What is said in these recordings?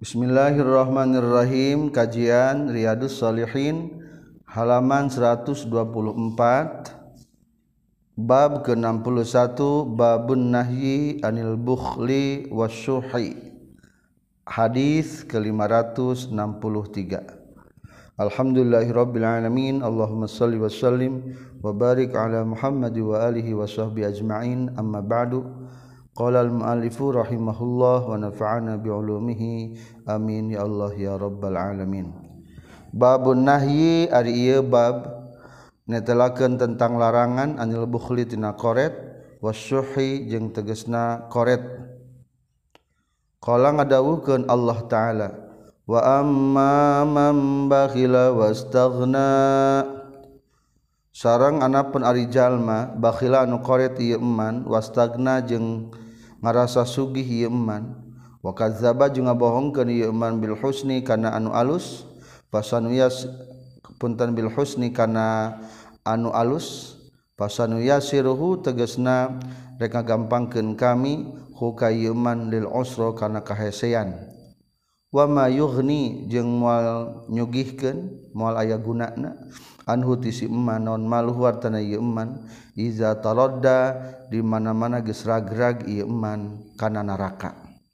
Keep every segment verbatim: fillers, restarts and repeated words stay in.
Bismillahirrahmanirrahim. Kajian Riyadhus Shalihin halaman seratus dua puluh empat, bab ke enam puluh satu, babun nahyi anil bukhli wasyuhi, hadis ke lima ratus enam puluh tiga. Alhamdulillahirabbil alamin, Allahumma shalli wa sallim wa barik ala Muhammad wa alihi wa sahbihi ajma'in. Amma ba'du. Qala al-mu'allifu rahimahullah wa nafa'ana bi'ulumihi amin ya Allah ya rabbal alamin. Babun nahyi ari ieu bab netelakeun tentang larangan anil bukhli tina qoret wasyuhi jeung tegasna qoret. Qala ngadawuhkeun Allah taala wa amma man bakhila wastaghna, sareng anapun ari jalma bakhila anu qoret ieu eman wastagna jeung ngarasa sugih ieu eman, wa kadzdzaba jeung ngabohongkeun ieu eman bil husni kana anu alus, fasanuyas punten bil husni kana anu alus, fasanuyasiruhu tegasna rek ngagampangkeun kami hu ka ieu eman lil usra kana kahesean, wa ma yughni jeung moal nyugihkeun moal aya gunana anhu tisi eman non maluhu artana ieu eman iza taradda di mana-mana geus ragrag ieu eman kana neraka.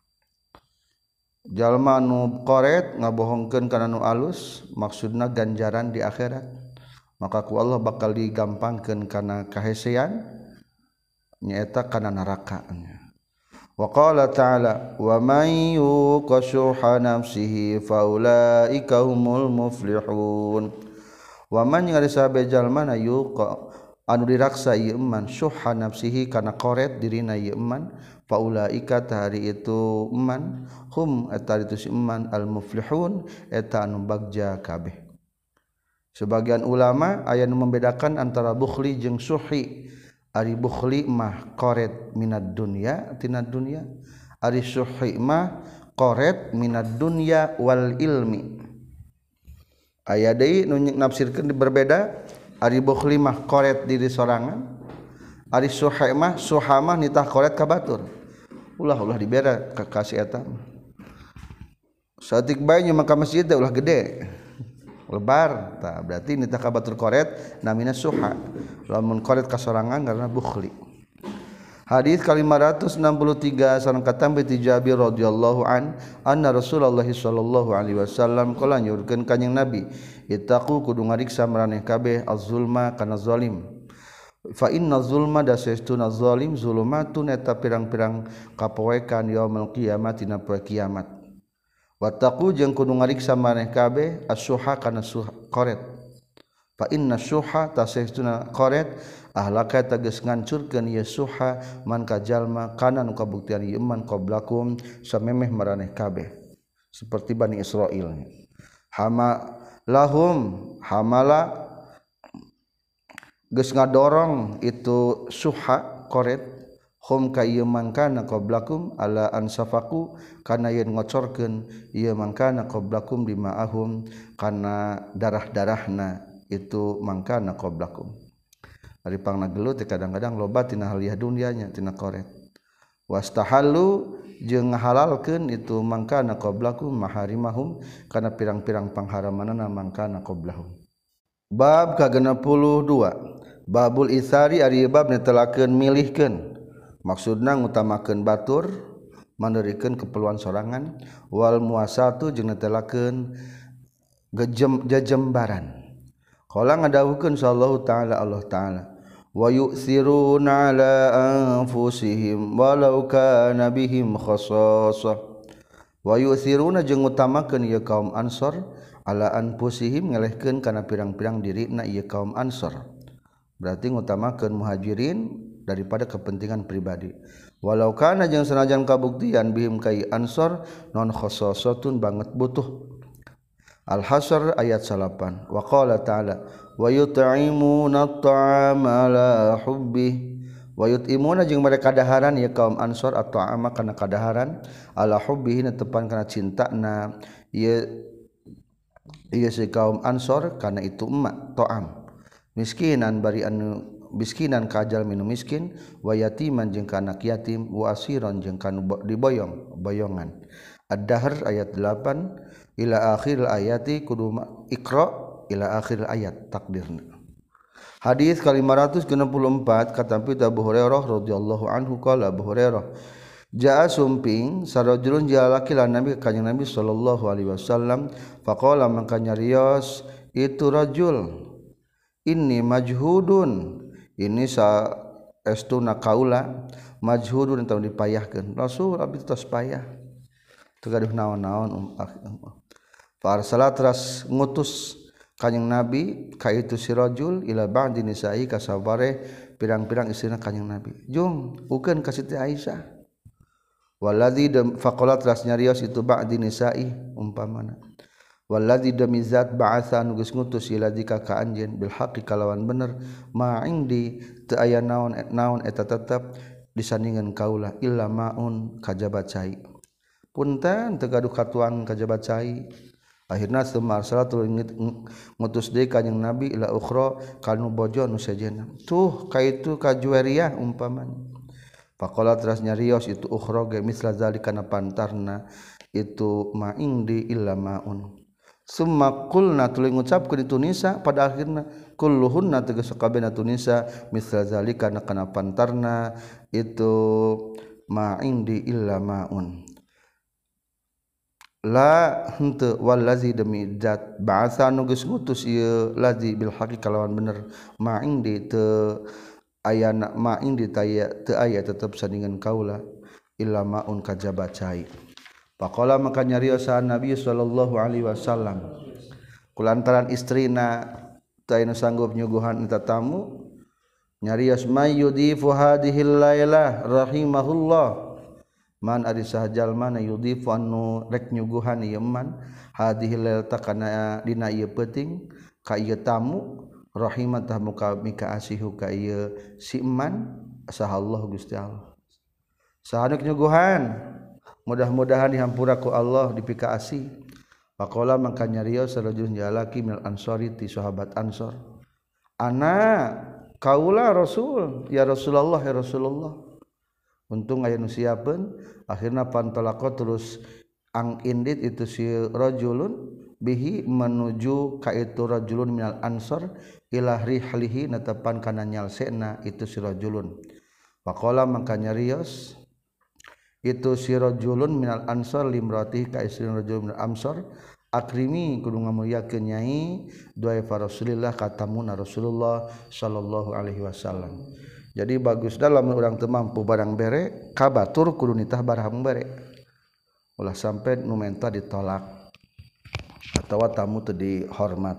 Jalma anu qoret ngabohongkeun kana nu alus maksudna ganjaran di akhirat, maka ku Allah bakal digampangkeun kana kahesean nyaeta kana neraka. Wa qala ta'ala wa may yuqashuha nafsihi faulaika humul muflihun. Wa man ngarisabe jalma na yuqa anu diraksa ieu eman syuhha nafsihi kana qoret dirina ieu eman faulaika tahari itu eman hum eta itu si eman al muflihun eta anu bagja kabeh. Sebagian ulama aya nu membedakan antara bukhli jeung syuhi. Ari bukhli mah qoret minad dunya tina dunya, ari syuhi mah qoret minad dunya wal ilmi. Aya deui nu nafsirkeun berbeda, ari bukhli mah qoret diri sorangan, ari syuhi mah syuha mah nitah qoret ka batur. Ulah-ulah dibere ka kasih eta. Saeutik bae nya maka masjid teh ulah gede. Lebar tah berarti nitah ka batur qoret namina syuha. Lamun qoret ka sorangan karena bukhli. Hadis ka lima ratus enam puluh tiga sareng katambe ti Jabir radhiyallahu an anna Rasulullah sallallahu alaihi wasallam qala nyurkeun kanjing Nabi ittaqu kudu ngariksa maraneh kabeh az-zulma kana zalim, fa inna zulma dasestuna zalim zulumatun eta pirang-pirang kapoekan yaumul qiyamah tina poe kiamat. Wattaqu jeung kudu ngariksa maraneh kabeh as-syuha kana syuha qoret, fa inna syuha tasestuna qoret ahlaka tegas ngancurkeun ieu syuha man ka jalma kana nu kabuktian ieu man qablakum samemeh maraneh kabeh seperti Bani Israil. Hama lahum hamala geus ngadorong itu syuha qoret hum ka ieu man kana qablakum ala ansafaku kana yen ngocorkeun ieu man kana qablakum dimaahum kana darah-darahna itu mangkana qablakum. Ari pangna gelut kadang-kadang loba tina haliah dunyanya tina qoret. Wastahallu jeung ngahalalkeun itu mangkana qablakum maharimahum kana pirang-pirang pangharamanana mangkana qablahum. Bab ka genep puluh dua, babul isari ari bab netelakeun milihkeun, maksudna ngutamakeun batur mandeurikeun keperluan sorangan, wal muasatu jeung netelakeun gejem jajembaran. Qala ngadawuhkeun sallallahu taala Allah taala wa yu'thiruna ala anfusihim walau kana bihim khassasah, wa yu'thiruna jeung ngutamakeun ieu kaum Ansor ala anfusihim ngelehkeun kana pirang-pirang dirina ieu kaum Ansor, berarti ngutamakeun muhajirin daripada kepentingan pribadi. Walau kana jeung sanajan kabuktian bihim kai Ansor non khassasatun banget butuh. Al-Hasr ayat salapan. Wa qala ta'ala wa yut'imuna at-ta'ama ala hubbih, wa yut'imuna jeung mereka kadaharan ya kaum Ansor at-ta'ama kana kadaharan ala hubbih netepan kana cintana ieu ieu si kaum Ansor kana itu emak ta'am, miskinan bari anu miskinan kajal minum miskin, wa yatiman jeung ka anak yatim, wa asiron jeung ka diboyong boyongan. Ad-Dahr ayat delapan ila akhir ayati kudu Iqra ila akhir ayat takdirna. Hadis ka lima ratus enam puluh empat kata Abu Hurairah radhiyallahu anhu qala Abu Hurairah jaa sumping sarajulun jalaki lan Nabi kanjeng Nabi sallallahu alaihi wasallam faqala mangka nyarios itu rajul inni majhudun ini sa estuna kaula majhudun teu dipayahkeun Rasul abi tos payah teu gaduh naon-naon farsala teras ngutus kanjing Nabi ka itu si rajul ila ba'di nisa'i ka sabare pirang-pirang istrina kanjing Nabi jung ukeun ka Siti Aisyah waladzi faqala teras nyarios itu ba'di nisa'i umpamana waladzi damizat ba'atha nu geus ngutus ila dika ka anjeun bil haqqi kalawan bener ma indi teu aya naon naon eta tetep disandingan kaula illa maun kajabat cai punten teu gaduh katuan kajabat cai akhirna summa arsalatul ngutus deui kanjing Nabi ila ukhra kanu bojo nu sejenna tuh kaitu ka Juwairiyah umpamana faqala teras nyarios itu ukhra ge misla zalika na pantarna itu ma indi illa maun summa qulna tuluy ngucapkeun itu nisa pada akhirna kulluhunna tegas sakabehna tu nisa misla zalika na kana pantarna itu ma indi illa maun la henteu wallazi demi zat ba'atha nu geus ngutus ieu lazi bil haqi kalawan bener ma indi teu aya ma indi taya teu aya tetep sandingan kaula illa maun kajabat cai faqala maka nyarios Nabi sallallahu alaihi wasallam kulantaran istrina teu aya nu sanggup nyuguhan eta tamu nyarios may yudifu hadhil lailah rahimahullah man ari sahajal mana yudifu anu rek nyuguhan ieu man hadhil lailata kana dina ieu peuting ka ieu tamu rahimatah muka mika asihu ka ieu si man sahallahu Gusti Allah sahanu nyuguhan mudah-mudahan dihampura ku Allah dipika asih faqala mangka nyarios sarajul jalaki minal ansori ti sahabat ansor ana kaula rasul ya Rasulullah ya Rasulullah untung aya nu siapeun akhirna pantalaqo terus ang indit itu si rajulun bihi menuju ka itu rajulun minal ansor ila rihlihi netepan kana nyalsena itu si rajulun faqala mangka nyarios itu si rajulun minal ansor limrati ka istri rajul minal ansor akrimi kudu ngamulyakeun nyai doa Rasulillah katamuna Rasulullah sallallahu alaihi wasallam. Jadi bagus dalam urang teu mampu barang bere kabatur kudu nitah barang bere ulah sampai nu menta ditolak atawa tamu teu dihormat.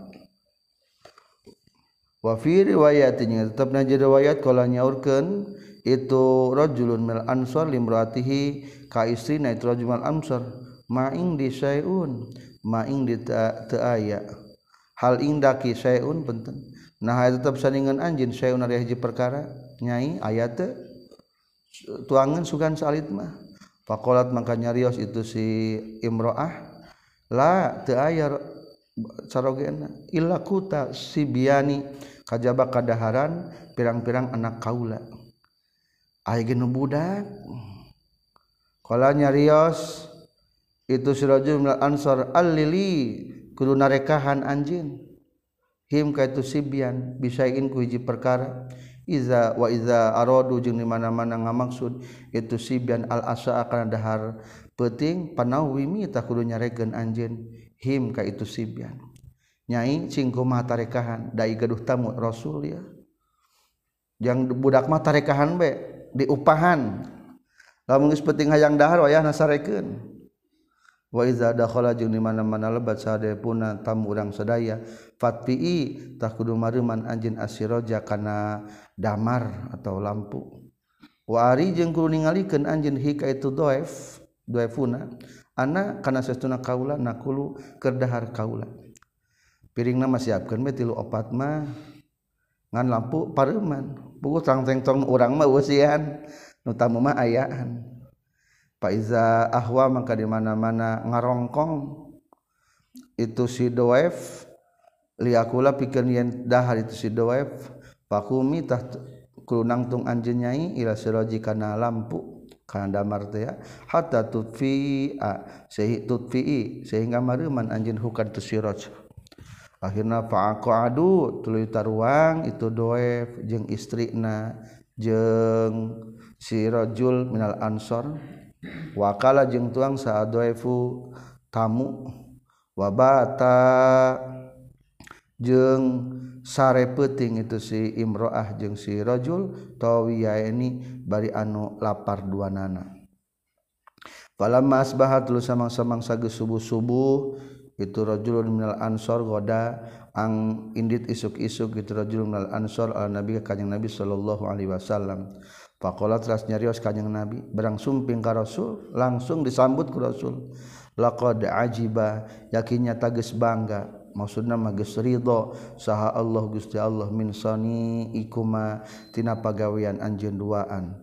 Wa fi riwayatin tetepna jadi riwayat kala nyaurkeun itu rajulun mil ansor limraatihi ka istrina itu rajul mil ansor ma ing di sayun ma ing di teu aya hal indaki sayun penting nah tetep sandingan anjeun sayun ari hiji perkara nyai aya teu tuangan sugan salit mah faqalat mangka nyarios itu si imroah la teu aya sarogena illa kuta sibiani kajaba kadaharan pirang-pirang anak kaula aya ge nu budak qala nyarios itu si rajul minal ansor allili kudu narekahan anjeun him ka itu sibyan bisain ku hiji perkara iza wa iza aradu jeung di mana-mana ngamaksud itu sibyan al asa kana dahar peuting panawimi tah kudu nyarekeun anjeun him ka itu sibyan nyai cing kumaha tarekahan dai gaduh tamu rasul ya yang budak mah tarekahan be diupahan lamun geus peuting hayang dahar wayahna sarekeun wa iza dakhala jeung di mana-mana lebat sadayapuna tamu urang sadaya fatpi tah kudu mareuman anjeun asiraja kana damar atau lampu wa ari jeung kudu ningalikeun anjeun hika itu dhaif dhaifuna ana kana sestuna kaula nakulu keur dahar kaula piringna mah siapkeun we tilu opat mah ngan lampu pareuman puguh tang-teng tong urang mah eueusian nu tamu mah ayaan Faiza ahwa maka di mana-mana ngarongkong itu si doef liakula pikeun yen dahar itu si doef pakumi tah kudu nangtung anjeun nyai ila siraji kana lampu kana damar teh ya hatta tutfi sehingga tutfi sehingga mareuman anjeun hukan tu siraj akhirna fa'aqadu tuluy taruang itu doef jeung istrina jeung si rajul minal ansor wakala jeung tuang saadoefu tamu wabata jeung sare peuting itu si imroah jeung si rajul tawiyaini bari anu lapar duanana falamma asbahat lu samang-samang sageus subuh-subuh itu rajulun minal ansor goda ang indit isuk-isuk itu rajulun minal ansor al nabi ka kanjing nabi sallallahu alaihi wasallam faqala teras nyarios kanjing nabi berang sumping ka rasul langsung disambut ku rasul laqad ajiba yakinnya tageus bangga maksudna mah geus ridho saha Allah Gusti Allah min sani ikuma tina pagawean anjeun duaan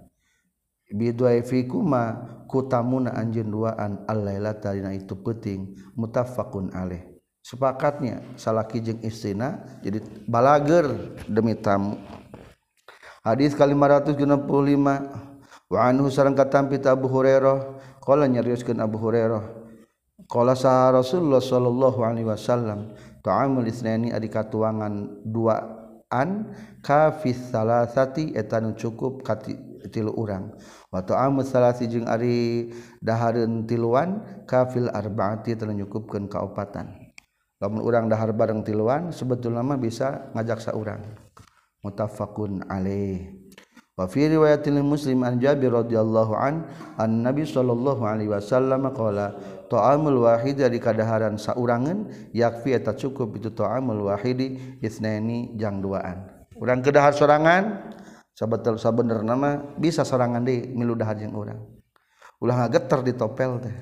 bidwaifikuma kutamuna anjeun duaan al-lailata dina itu peuting muttafaqun alaih sepakatnya salaki jeung istrina jadi balager demi tamu hadis ka lima ratus enam puluh lima wa anhu sareng katampi Abu Hurairah qala nyarioskeun Abu Hurairah qala sa Rasulullah sallallahu alaihi wasallam ta'amul isnaini adi katuangan duaan kafis salasati eta nu cukup ka tilu urang wa ta'amul salasi jeung ari dahareun tiluan kafil arbaati teu nyukupkeun ka opatan lamun urang dahar bareng tiluan sebetulna mah bisa ngajak saurang muttafaqun alaih wa fi riwayatil muslim an Jabir radhiyallahu an an Nabi sallallahu alaihi wasallam qala ta'amul wahid di kadaharan saurangan yakfi eta cukup itu ta'amul wahidi isnaini jang duaan urang kedahar sorangan sabetul sabenerna mah bisa sorangan deui milu dahar jeung urang ulah ngageter di topel teh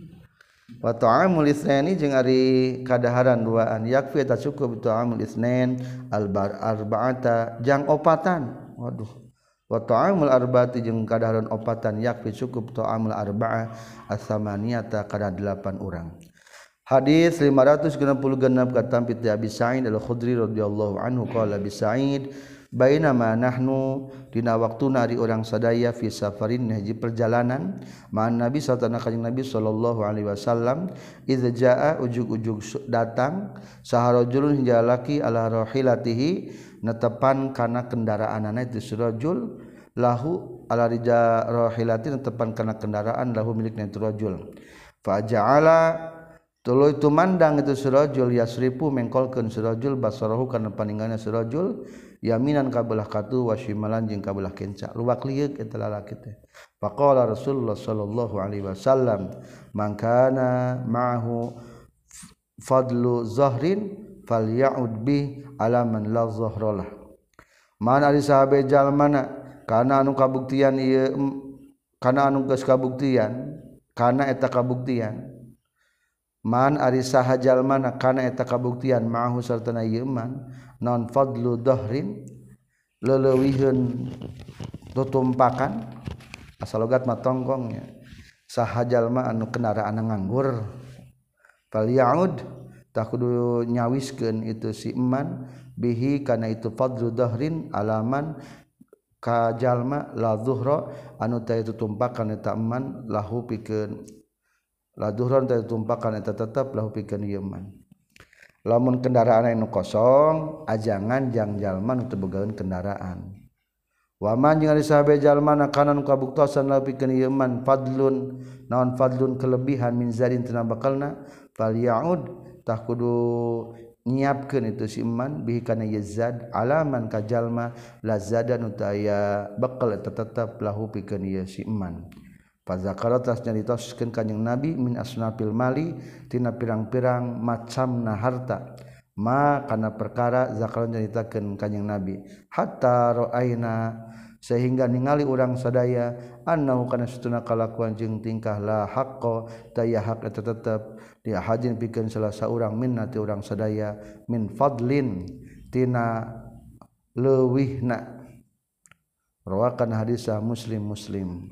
wa ta'amul isnaini jeung ari kadaharan duaan yakfi eta cukup ta'amul isnain al arba'ata jang opatan waduh wa ta'amul arba'ati jeung kadaharan opatan yakfi cukup ta'amul arba'ah as-samaniyata kana delapan urang hadis lima ratus enam puluh genep katampi ti Abi Sa'id al-Khudri radhiyallahu anhu qala Abi Sa'id bainama nahnu dina waktuna ari urang sadaya fi safarin hiji perjalanan ma'an Nabi sallallahu alaihi Nabi sallallahu alaihi wasallam idza jaa ujug-ujug datang saharajulun hingga laki ala rahilatihi netepan kana kendaraanana itu surajul lahu ala rija rahilati netepan kana kendaraan lahu milikna itu rajul fa ja'ala tuluy tumandang itu surajul yasrifu mengkolkeun surajul basarahu kana paninganna surajul yaminan ka belah katu wa shimalan jeung ka belah kenca luwak lieur eta lalaki teh faqala Rasulullah sallallahu alaihi wasallam man kana ma'ahu fadlu zahrin falya'ud bi ala man la zahralah man ari sahabe jalmana kana anu kabuktian ieu kana anu geus kabuktian kana eta kabuktian man ari saha jalmana kana eta kabuktian ma'ahu sartana ieu man non fadlu dhahrin leuleuyieun tutumpakan asal logat mah tongkongnya saha jalma anu kendaraan nganggur falya'ud tak kudu nyawiskeun itu si eman bihi kana itu fadlu dhahrin alaman ka jalma la zuhra anu teh tutumpakan eta eman lahu pikeun la zuhran teh tutumpakan eta tetep lahu pikeun ieu eman lamun kendaraan anu kosong ajangan jang jalma nu teu bogaeun kendaraan waman jeung ari sahabe jalmana kana nu kabuktosan lahu pikeun ieu eman fadlun naon fadlun kelebihan min zadin tina bakalna falya'ud tah kudu nyiapkeun itu si iman bihi kana yazad alaman ka jalma lazadan utaya bekal eta tetep lahu pikeun ieu si iman fa zakara tas nyarioskeun kanjing nabi min asnafil mali tina pirang-pirang macamna harta ma kana perkara zakara nyaritakeun kanjing nabi hatta ra'aina sehingga ningali urang sadaya annahu kana satuna kalakuan jeung tingkah la haqqo taya hak eta tetep dia hajin pikeun salah saurang minna ti urang sadaya min fadlin tina leuwihna rawakan hadisah muslim muslim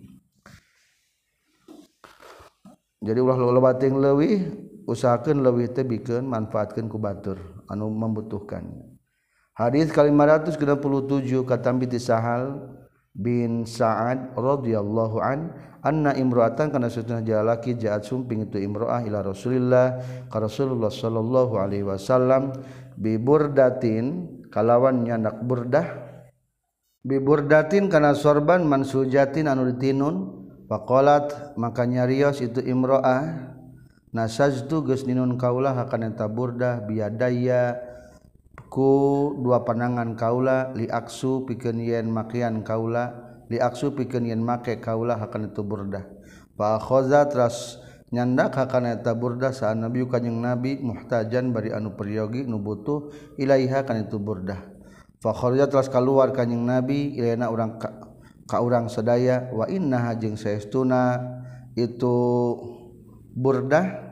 jadi ulah loba ting leuwih usahakeun leuwih teh bikeun manfaatkeun ku batur anu membutuhkan hadis ka lima ratus enam puluh tujuh katambi ti Sahal bin Sa'ad radhiyallahu an anna imra'atan kana satuna jalaki jaat sumping itu imra'ah ila Rasulillah ka Rasulullah sallallahu alaihi wasallam bi burdatin kalawan nyandak burdah bi burdatin kana sorban mansujatin anu ditinun faqalat maka nyarios itu imra'ah nasajtu geus ninun kaulah kana eta burdah biadaya ku dua panangan kaula li aksu pikeun yen makian kaula li aksu pikeun yen make kaula hakana itu burdah fa khaza tras nyandak hakana eta burdah sa nabi kanjing nabi muhtajan bari anu peryogi nu butuh ilaiha kana itu burdah fa kharaja tras kaluar kanjing nabi ilaina urang ka, ka urang sadaya wa innaha jeung saestuna itu burdah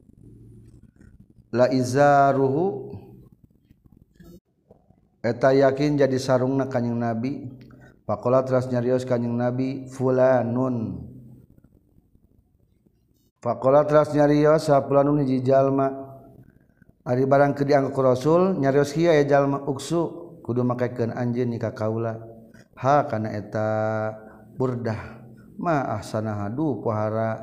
la izaruhu eta yakin jadi sarungna kanjing nabi faqala teras nyarios kanjing nabi fulanun faqala teras nyarios sa fulanun hiji jalma ari barang keur dianggo ku rasul nyarios hiya ya jalma uksu kudu makekeun anjeun ka kaula ha kana eta burdah ma ahsana hadu pohara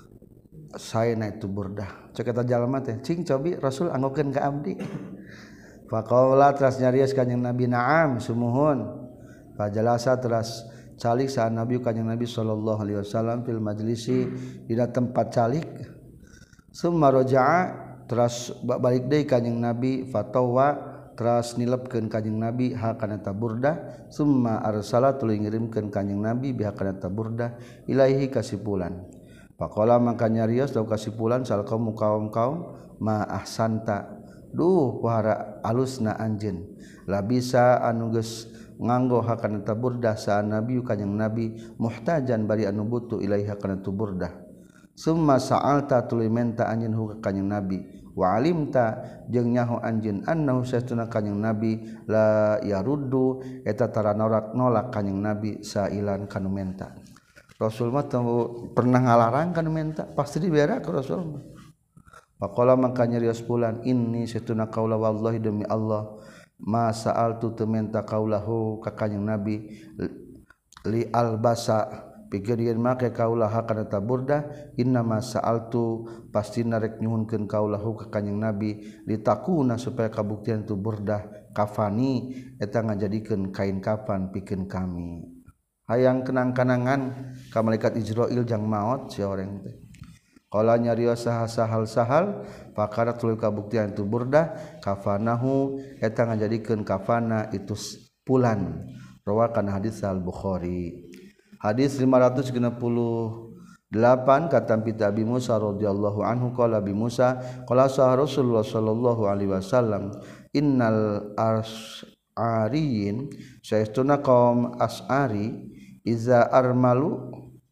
saena itu burdah cek eta jalma teh cing cobi rasul anggokeun ka abdi faqala teras nyarios kanjing nabi na'am sumuhun fajalasa teras calik sa nabi kanjing nabi sallallahu alaihi wasallam fil majlisi dina tempat calik summa raja'a teras balik deui kanjing nabi fatawa teras nilepkeun kanjing nabi ha kana ta burdah summa arsala tuluy ngirimkeun kanjing nabi biha kana ta burdah ilaihi kasipulan faqala maka nyarios daw kasipulan sal kaum kaum-kaum ma ahsanta duh pohara alusna anjeun la bisa anu geus nganggo hakana ta burdah sa nabi kanjing nabi muhtajan bari anu butuh ilaiha kana tu burdah summa sa'alta tuluy menta anjeun hu ka kanjing nabi wa alimta jeung nyaho anjeun annahu satuna kanjing nabi la yaruddu eta tara nolak nolak kanjing nabi sailan kanu menta rasul mah pernah ngalarang kanu menta pasti dibere ka rasul mah faqala maka nyarios pulan inni satuna qaula wallahi demi Allah ma sa'altu teu menta qaulahu ka kanjing nabi li albasa pikeun yen make kaulah kana ta burdah inna ma sa'altu pasti narek nyuhunkeun kaulahu ka kanjing nabi litakuna supaya kabuktian tu burdah kafani eta ngajadikeun kain kafan pikeun kami hayang kenang-kenangan ka malaikat Israil jang maot si orang teh qala nyarios sahal sahal pakara tuluy kabuktian itu burdah kafanahu eta ngajadikeun kafana itu pulan rawakan hadis al Bukhari hadis lima ratus enam puluh delapan kata pita Abi Musa radhiyallahu anhu qala Abi Musa qala sah Rasulullah sallallahu alaihi wasallam innal as'ariyin saestuna kaum as'ari iza armalu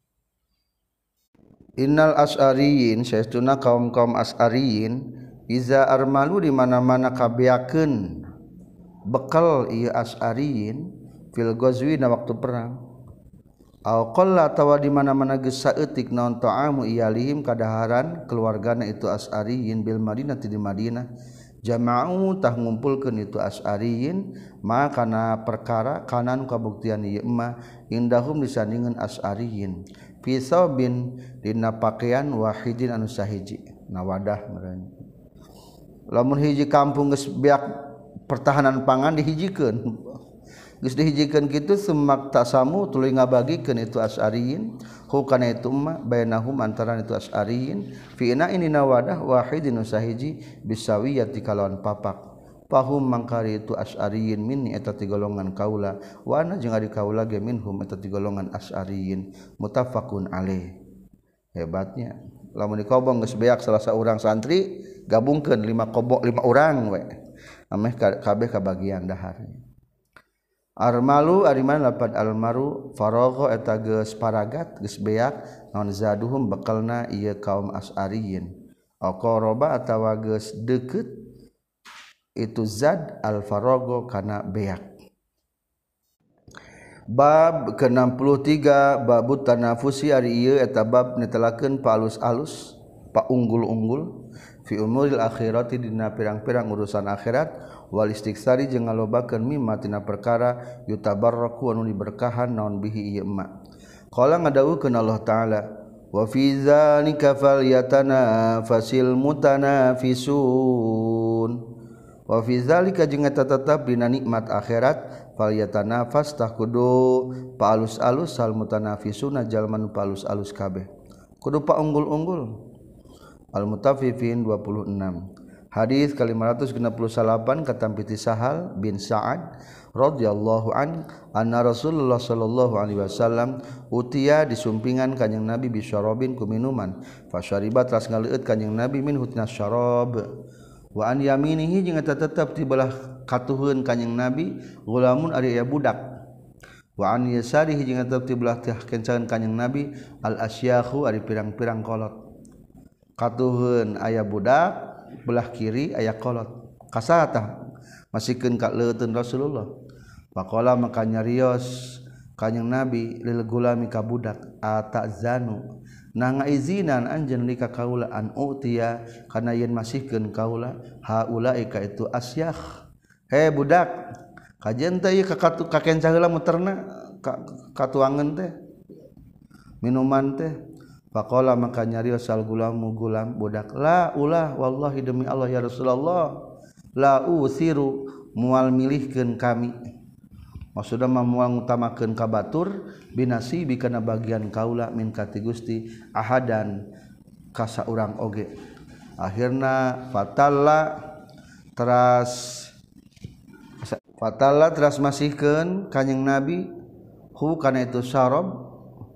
Innal as'ariyin saestuna kaum-kaum as'ariyin iza armalu di mana-mana kabeakeun bekal ieu as'ariyin fil ghazwi na waktu perang aw qalla tawa di mana-mana geus saeutik naon ta'amu iyalihim kadaharan keluargana itu as'ariyin bil Madinah di Madinah jama'u tah ngumpulkeun itu as'ariyin ma kana perkara kanan kabuktian ieu mah indahum disandingeun as'ariyin pisau bin dina pakaian wahidin anu sahiji nawadah meureun lamun hiji kampung geus beak pertahanan pangan dihijikeun geus dihijikeun kitu semak tasamu tuluy ngabagikeun itu as'ariyin hu kana itu mah bainahum antaran itu as'ariyin fi ina ini nawadah wahidin anu sahiji bisawiyati kalawan papak pahum mangkari itu as'ariyin minni eta ti golongan kaula wa ana jeung ari kaula ge minhum eta ti golongan as'ariyin muttafaqun alaih hebatnya lamun dikobong geus beak salah saurang santri gabungkeun lima kobok lima urang we ameh kabeh kabagian daharnya armalu ari mana lapad almaru faragha eta geus paragat geus beak naon zaduhum bekalna ieu kaum as'ariyin aqaraba atawa geus deukeut itu zad al-farago kana beak bab ke enam puluh tiga babut tanafusi ari ieu eta bab netelakeun palus-alus pa unggul-unggul fi umuril akhirati dina pirang-pirang urusan akhirat wal istiksari jeung ngalobakeun mimma tina perkara yutabarraku anu diberkahan naon bihi ieu ma. Qala ngadawukeun Allah taala wa fi dzalika falyatanafasil mutanafisun wa fi dzalika jeung eta tetep dina nikmat akhirat falyatanafas tah kudu paalus-alus sal mutanafisuna jalma nu paalus-alus kabeh kudu paunggul-unggul. Al-Mutaffifin dua puluh enam. Hadis ka lima ratus genep puluh salapan katampi ti Sahal bin Sa'ad radhiyallahu an anna Rasulullah sallallahu alaihi wasallam utiya disumpingan kanjing Nabi bisyarabin ku minuman fasyariba teras ngaleueut kanjing Nabi min hutna syarab wa an yaminihi jeung eta tetep ti belah katuheun kanjing Nabi gulamun ari aya budak wa an yasarihi jeung eta ti belah teh kencaeun kanjing Nabi al asyakhu ari pirang-pirang kolot katuheun aya budak belah kiri aya kolot kasatah masikeun ka leuteun Rasulullah faqala maka nyarios kanjing Nabi lil gulami ka budak atazanu na ngaizinan anjeun li ka kaula an utiya kana yen masihkeun kaula haula'i ka itu asyakh he budak kajen teh ieu ka kakenca heula muterna katuangeun teh minuman teh faqala maka nyarios sal gulamu gulam budak la ulah wallahi demi Allah ya Rasulullah la usiru mual milihkeun kami maksudna mual ngutamakeun ka batur binasibi kana bagian kaula min kati Gusti ahadan ka saurang oge akhirna fatalla teras fatalla teras masihkeun kanjing Nabi hu kana itu syarab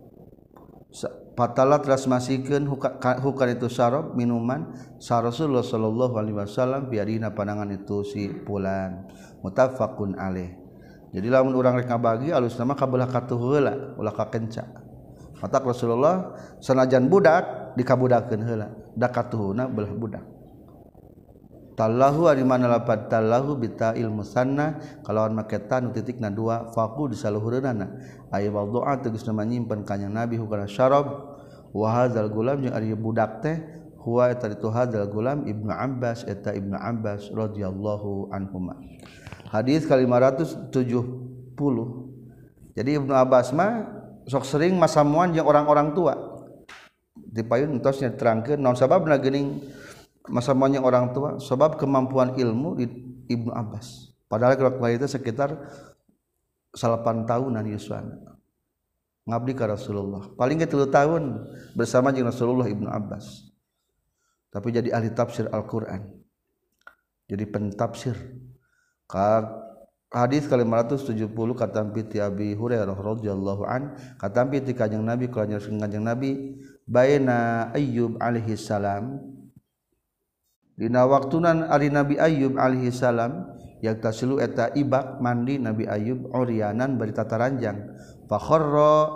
fatalla teras masihkeun hu kana itu syarab minuman sa Rasulullah sallallahu alaihi wasallam biarina pandangan itu si pulan muttafaqun alaih. Jadi lamun urang rek ngabagi alusna mah kabelah katuh heula ulah kakenca mata Rasulullah sanajan budak dikabudakeun heula da katuhna belah budak tallahu ari mana lapad tallahu bita'il musanna kalawan make ta nu titikna dua faqu disaluhureunana aya waddu'a tegasna manyimpen kanjing Nabi hukana syarab wa hadzal gulam jeung ari budak teh huwa eta itu hadzal gulam Ibnu Abbas eta Ibnu Abbas radhiyallahu anhuma. Hadis ka lima ratus tujuh puluh. Jadi Ibnu Abbas mah sok sering masamuan jeung orang-orang tua. Dipayun entos nya terangkeun naon sababna geuning masamuan jeung orang tua sebab kemampuan ilmu di Ibnu Abbas. Padahal kalau itu sekitar salapan tahunan yuswana. Ngabdi ka Rasulullah. Paling ge tilu tahun bersama jeung Rasulullah Ibnu Abbas. Tapi jadi ahli tafsir Al-Qur'an. Jadi pentafsir. Ka hadis ka lima ratus tujuh puluh katampi ti Abi Hurairah radhiyallahu an katampi ti kanjing Nabi kala nyarskeun kanjing Nabi baina Ayyub alaihi salam dina waktunan ari Nabi Ayyub alaihi salam yaktasilu eta ibak mandi Nabi Ayyub uryanan bari tataranjang fa kharra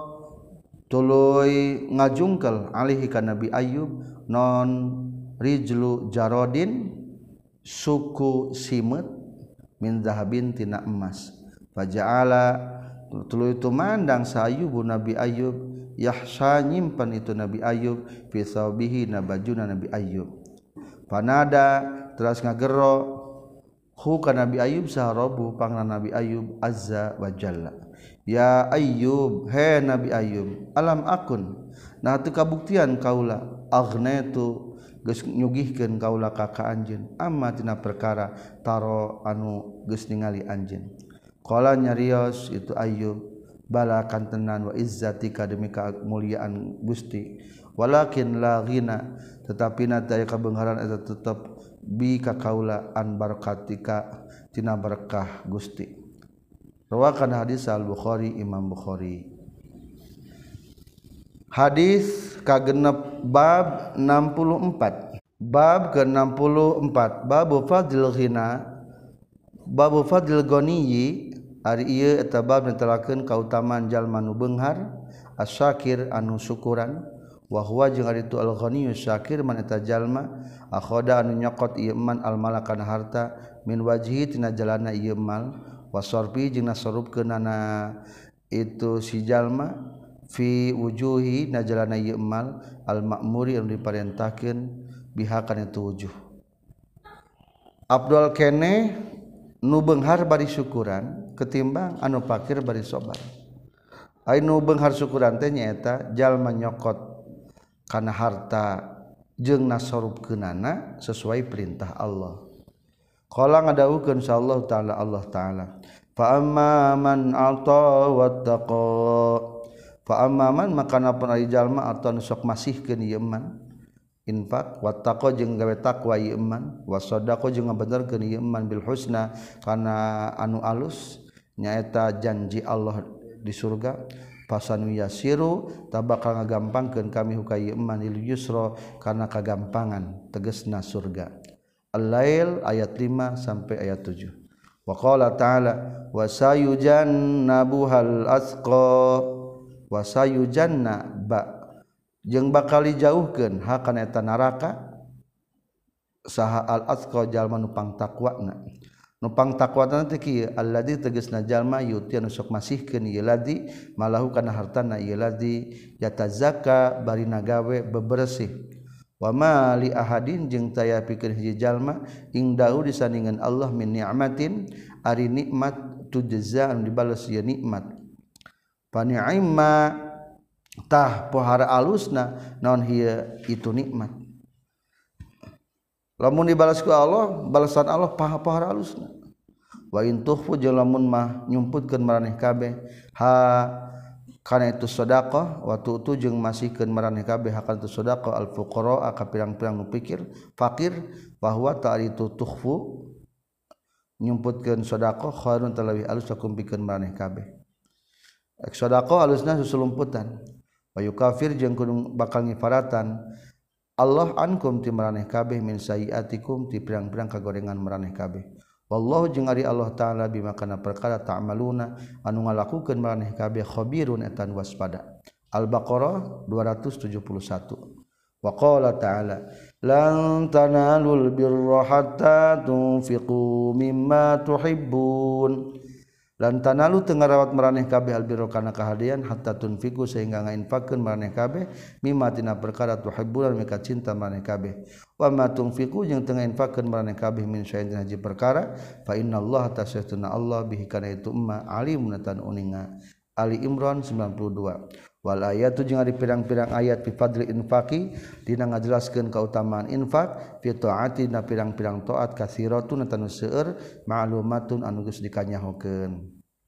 tuluy ngajungkel alaihi ka Nabi Ayyub non rijlu jarodin suku simet min zahabin tina emas faja'ala tuluy tumandang sa Ayyub Nabi Ayyub yahsa nyimpen itu Nabi Ayyub fi sawbihi na bajuna Nabi Ayyub panada teras ngagero hu ka Nabi Ayyub saharabu pangna Nabi Ayyub azza wa jalla ya Ayyub he Nabi Ayyub alam akun nah teu kabuktian kaula aghnaitu geus nyugihkeun kaula ka ka anjeun amma tina perkara taro anu geus ningali anjeun qala nyarios itu Ayyub bala kantenan wa izzatika demi kamuliaan Gusti walakin la ghina tetapi na taya kabeungharan eta tetep bi ka kaula an barakatika tina berkah Gusti rawakan hadis Al-Bukhari Imam Bukhari. Hadis kagenep bab enam puluh empat. Bab ke enam puluh empat bab fadil ghina bab fadil ghaniyi ari ieu eta bab netelakeun kautamaan jalma nu beunghar asyakir anu syukuran wa huwa jeung ari itu al-ghaniyyu syakir man eta jalma akhoda anu nyokot ieu man al-malakan harta min wajhi tina jalanna ieu mal wasarfi jeung nasarupkeunana itu si jalma fi wujuhi najalana ieu mal al-ma'muri anu diparentahkeun biha kana itu wujuh. Abdul kene nu beunghar bari syukuran ketimbang anu pakir bari sabar. Ai nu beunghar syukuran teh nyaeta jalma nyokot kana harta jeung nasorupkeunana sesuai perintah Allah. Qala ngadawukeun insyaallah taala Allah taala fa amma man ata wattaqa fa amma man maka napun ari jalma atau sok masihkeun ieu man infak wattaqo jeung gawe takwa ieu iman wasadaqo jeung ngabenerkeun ieu iman bil husna kana anu alus nyaeta janji Allah di surga pasanu yasiru tabakal ngagampangkeun kami huka ieu iman lil yusra kana kagampangan tegasna surga. Al-Lail ayat lima sampai ayat tujuh. Wa qala ta'ala wa sayujannabuhal asqa wa sayujanna ba jeung bakal dijauhkeun hakana eta neraka saha al atqa jalma nu pang taqwana nu pang taqwana teh kieu alladzi tegasna jalma yuti anu sok masihkeun ieu ladzi malahu kana hartana ieu ladzi yatazakka bari nagawe bebersih wa ma li ahadin jeung taya pikeun hiji jalma ingdahu disandingan Allah min ni'matin ari nikmat tujza anu dibales ieu nikmat fa ni'ma tah pohara alusna naon hiya itu nikmat lamun dibalas ku Allah balasan Allah paha pohara alusna wa in tukhfu lamun mah nyumputkeun maraneh kabeh ha kana itu sedekah wa tu'tu jeung masihkeun maraneh kabeh hakana itu sedekah al fuqara ka pirang-pirang nu pikir fakir bahwa ta'ritu tukhfu nyumputkeun sedekah khairun talawi alus sakum pikeun maraneh kabeh ek sedekah alusna susulumputan wa yukafir jeung kudu bakal ngifaratan Allah ankum ti maraneh kabeh min sayiatikum ti pirang-pirang kagorengan maraneh kabeh wallahu jeung ari Allah taala bima kana perkara ta'maluna anu ngalakukeun maraneh kabeh khabirun etan waspada. Al-Baqarah dua ratus tujuh puluh satu. Wa qala ta'ala lan tanalul birra hatta tunfiqu mimma tuhibbun lan tanalu teu ngarawat maraneh kabeh albirra kana kahadian hatta tunfiqu sehingga ngainfaqkeun maraneh kabeh mimma tina perkara tuhibbun mika cinta maraneh kabeh wa ma tunfiqu jeung teu ngainfaqkeun maraneh kabeh min syai'in haji perkara fa innallaha tasyattuna Allah bihi kana itu emma alimun tan uninga. Ali Imran sembilan puluh dua. Wal ayatu jeung ari pirang-pirang ayat fi fadli infaqi dina ngajelaskeun kautamaan infak fi taati na pirang-pirang taat kasiratun tanu seueur ma'lumatun anu geus dikanyahokeun.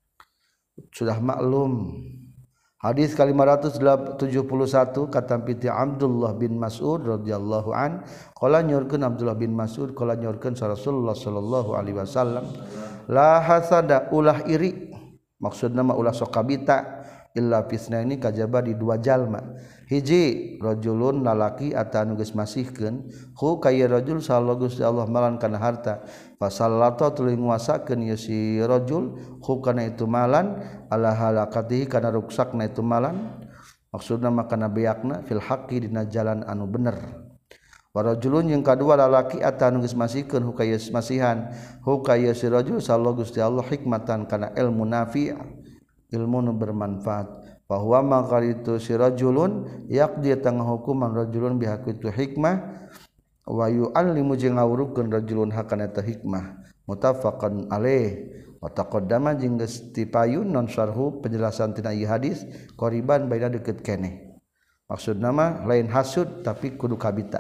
Sudah maklum. Hadis ka lima ratus tujuh puluh satu katampi ti Abdullah bin Mas'ud radhiyallahu an qala nyorkeun Abdullah bin Mas'ud qala nyorkeun Rasulullah sallallahu alaihi wasallam la hasada ulah iri maksudna mah ulah sok kabita illa fisnaini kajaba di dua jalma hiji rajulun lalaki ata anu geus masihkeun hu kaya rajul sallallahu Gusti Allah malan kana harta fasallata tuluy nguasakeun ieu si rajul hu kana itu malan ala halakatihi kana ruksakna itu malan maksudna mah kana beakna fil haqqi dina jalan anu bener wa rajulun yang kadua lalaki ata anu geus masihkeun hu kaya masihan hu kaya si rajul sallallahu Gusti Allah hikmatan kana ilmu nafi' ilmu nu bermanfaat bahwa maka itu si rajulun yaqdi tangah hukuman rajulun bihaku itu hikmah wa yu'allimu jeung ngawurukeun rajulun hakana eta hikmah muttafaqan alaih wa taqaddama jeung geus tipayun non syarhu penjelasan tina ieu hadis qoriban baina deukeut keneh maksudna mah lain hasud tapi kudu kabita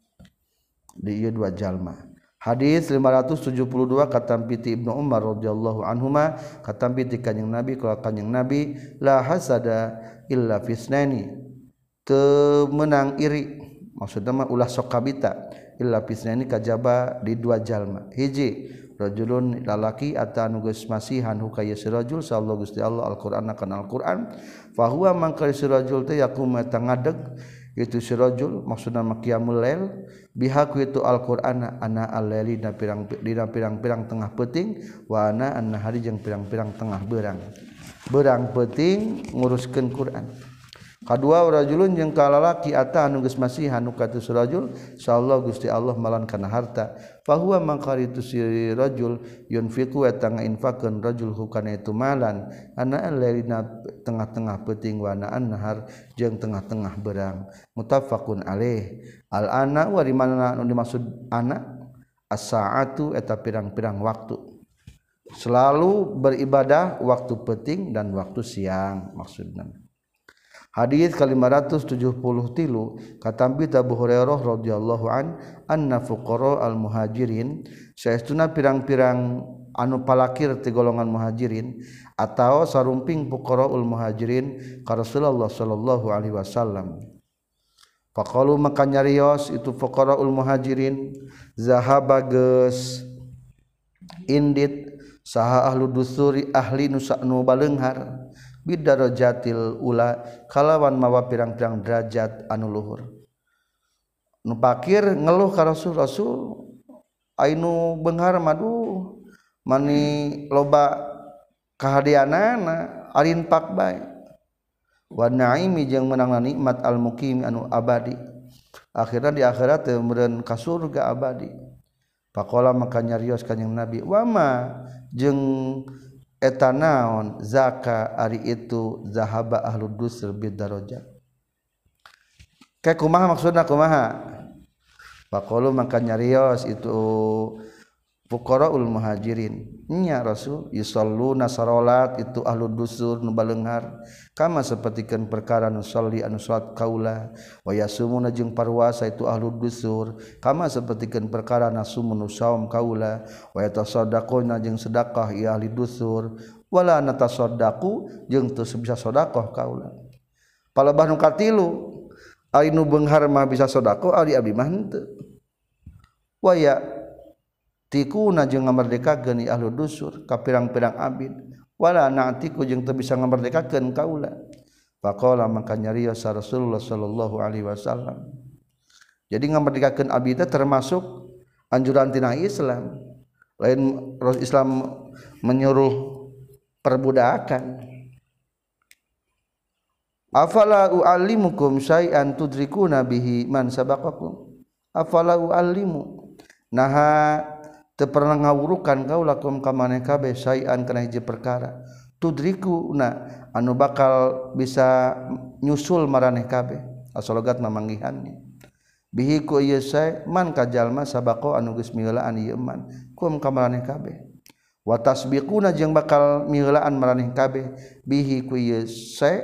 di ieu dua jalma. Hadis lima ratus tujuh puluh dua katampi ti Ibnu Umar radhiyallahu anhuma katampi ti kanjing Nabi kala kanjing Nabi la hasada illa fisnani teu meunang iri maksudna mah ulah sok kabita illa fisnani kajaba di dua jalma hiji rajulun lalaki ata anu geus masihan hukaya si rajul sallallahu Gusti Allah Al-Qur'an kana Al-Qur'an fa huwa mangka si rajul teh yakum eta ngadeg itu si rajul maksudna mah qiyamul lail bihaku itu Al-Qur'an ana al-laili dina pirang dina pirang-pirang tengah peuting wa ana an-nahari jeung pirang-pirang tengah beurang beurang peuting nguruskeun Qur'an kadua rajulun jeung kalalaki ata anu geus masihan nu ka tu rajul sallallahu Gusti Allah malan kana harta fa huwa mangkaritu si rajul yunfiqu eta ngainfaqkeun rajul hukana itu malan ana al-lailina tengah-tengah peuting wa ana an-nahar jeung tengah-tengah beurang muttafaqun alaih al-ana wa di mana anu dimaksud ana as-saatu eta pirang-pirang waktu selalu beribadah waktu penting dan waktu siang maksudna. Hadis ke lima ratus tujuh puluh tilu katampi Abu Hurairah radhiyallahu an anna fuqara al muhajirin saestuna pirang-pirang anu palakir ti golongan muhajirin atau sarumping fuqaraul muhajirin ka Rasulullah sallallahu alaihi wasallam. Faqalu maka nyarios itu fuqaraul muhajirin zahaba geus indit saha ahlu dusuri ahli nu nu baleunghar bidarajatil ula kalawan mawa pirang-pirang derajat anu luhur. Nu pakir ngeluh ka Rasul, Rasul ainu beunghar madu mani loba kahadianana arin pak bae. Wa naimi jeung meunangna nikmat al muqim anu abadi. Akhirna di akhirat teh meureun ka surga abadi. Faqala maka nyarios kanjing Nabi, "Wa ma jeung eta naon zaka ari itu zahaba ahlu dusr bidarajat." Kayak kumaha maksudna kumaha? Faqalu maka nyarios itu fuqaraul muhajirin. Nya Rasul yusalluna salat itu ahlu dusur nu baleunghar kama sapertikeun perkara nu sholli anu salat kaula wa yasumuna jeung parwasa itu ahlu dusur kama sapertikeun perkara nasumun nu saum kaula wa yatasaddaquna jeung sedekah ieu ahli dusur wala natasaddaqu jeung teu bisa sedekah kaula. Palebah nu katilu ari nu beunghar mah bisa sedekah ari abdi mah henteu. Wa ya tikuna jeung ngamerdekakeun ahlu dusur ka pirang-pirang abid wala na'tiku jeung teu bisa ngamerdekakeun kaula. Faqala maka nyarios Rasulullah sallallahu alaihi wasallam. Jadi ngamerdekakeun abid teh termasuk anjuran tina Islam. Lain Islam menyuruh perbudakan. Afala u'allimukum syai'an tudrikuna bihi man sabaqakum. Afala u'allimu naha teu pernah ngawurukan kaulakum ka maneh kabeh sayan kana hiji perkara tudrikuna anu bakal bisa nyusul maraneh kabeh asalogat mamanggihannya bihi ku ieu sae man ka jalma sabaqo anu geus miheulaan ieu man kum ka maraneh kabeh wa tasbiquna jeung bakal miheulaan maraneh kabeh bihi ku ieu sae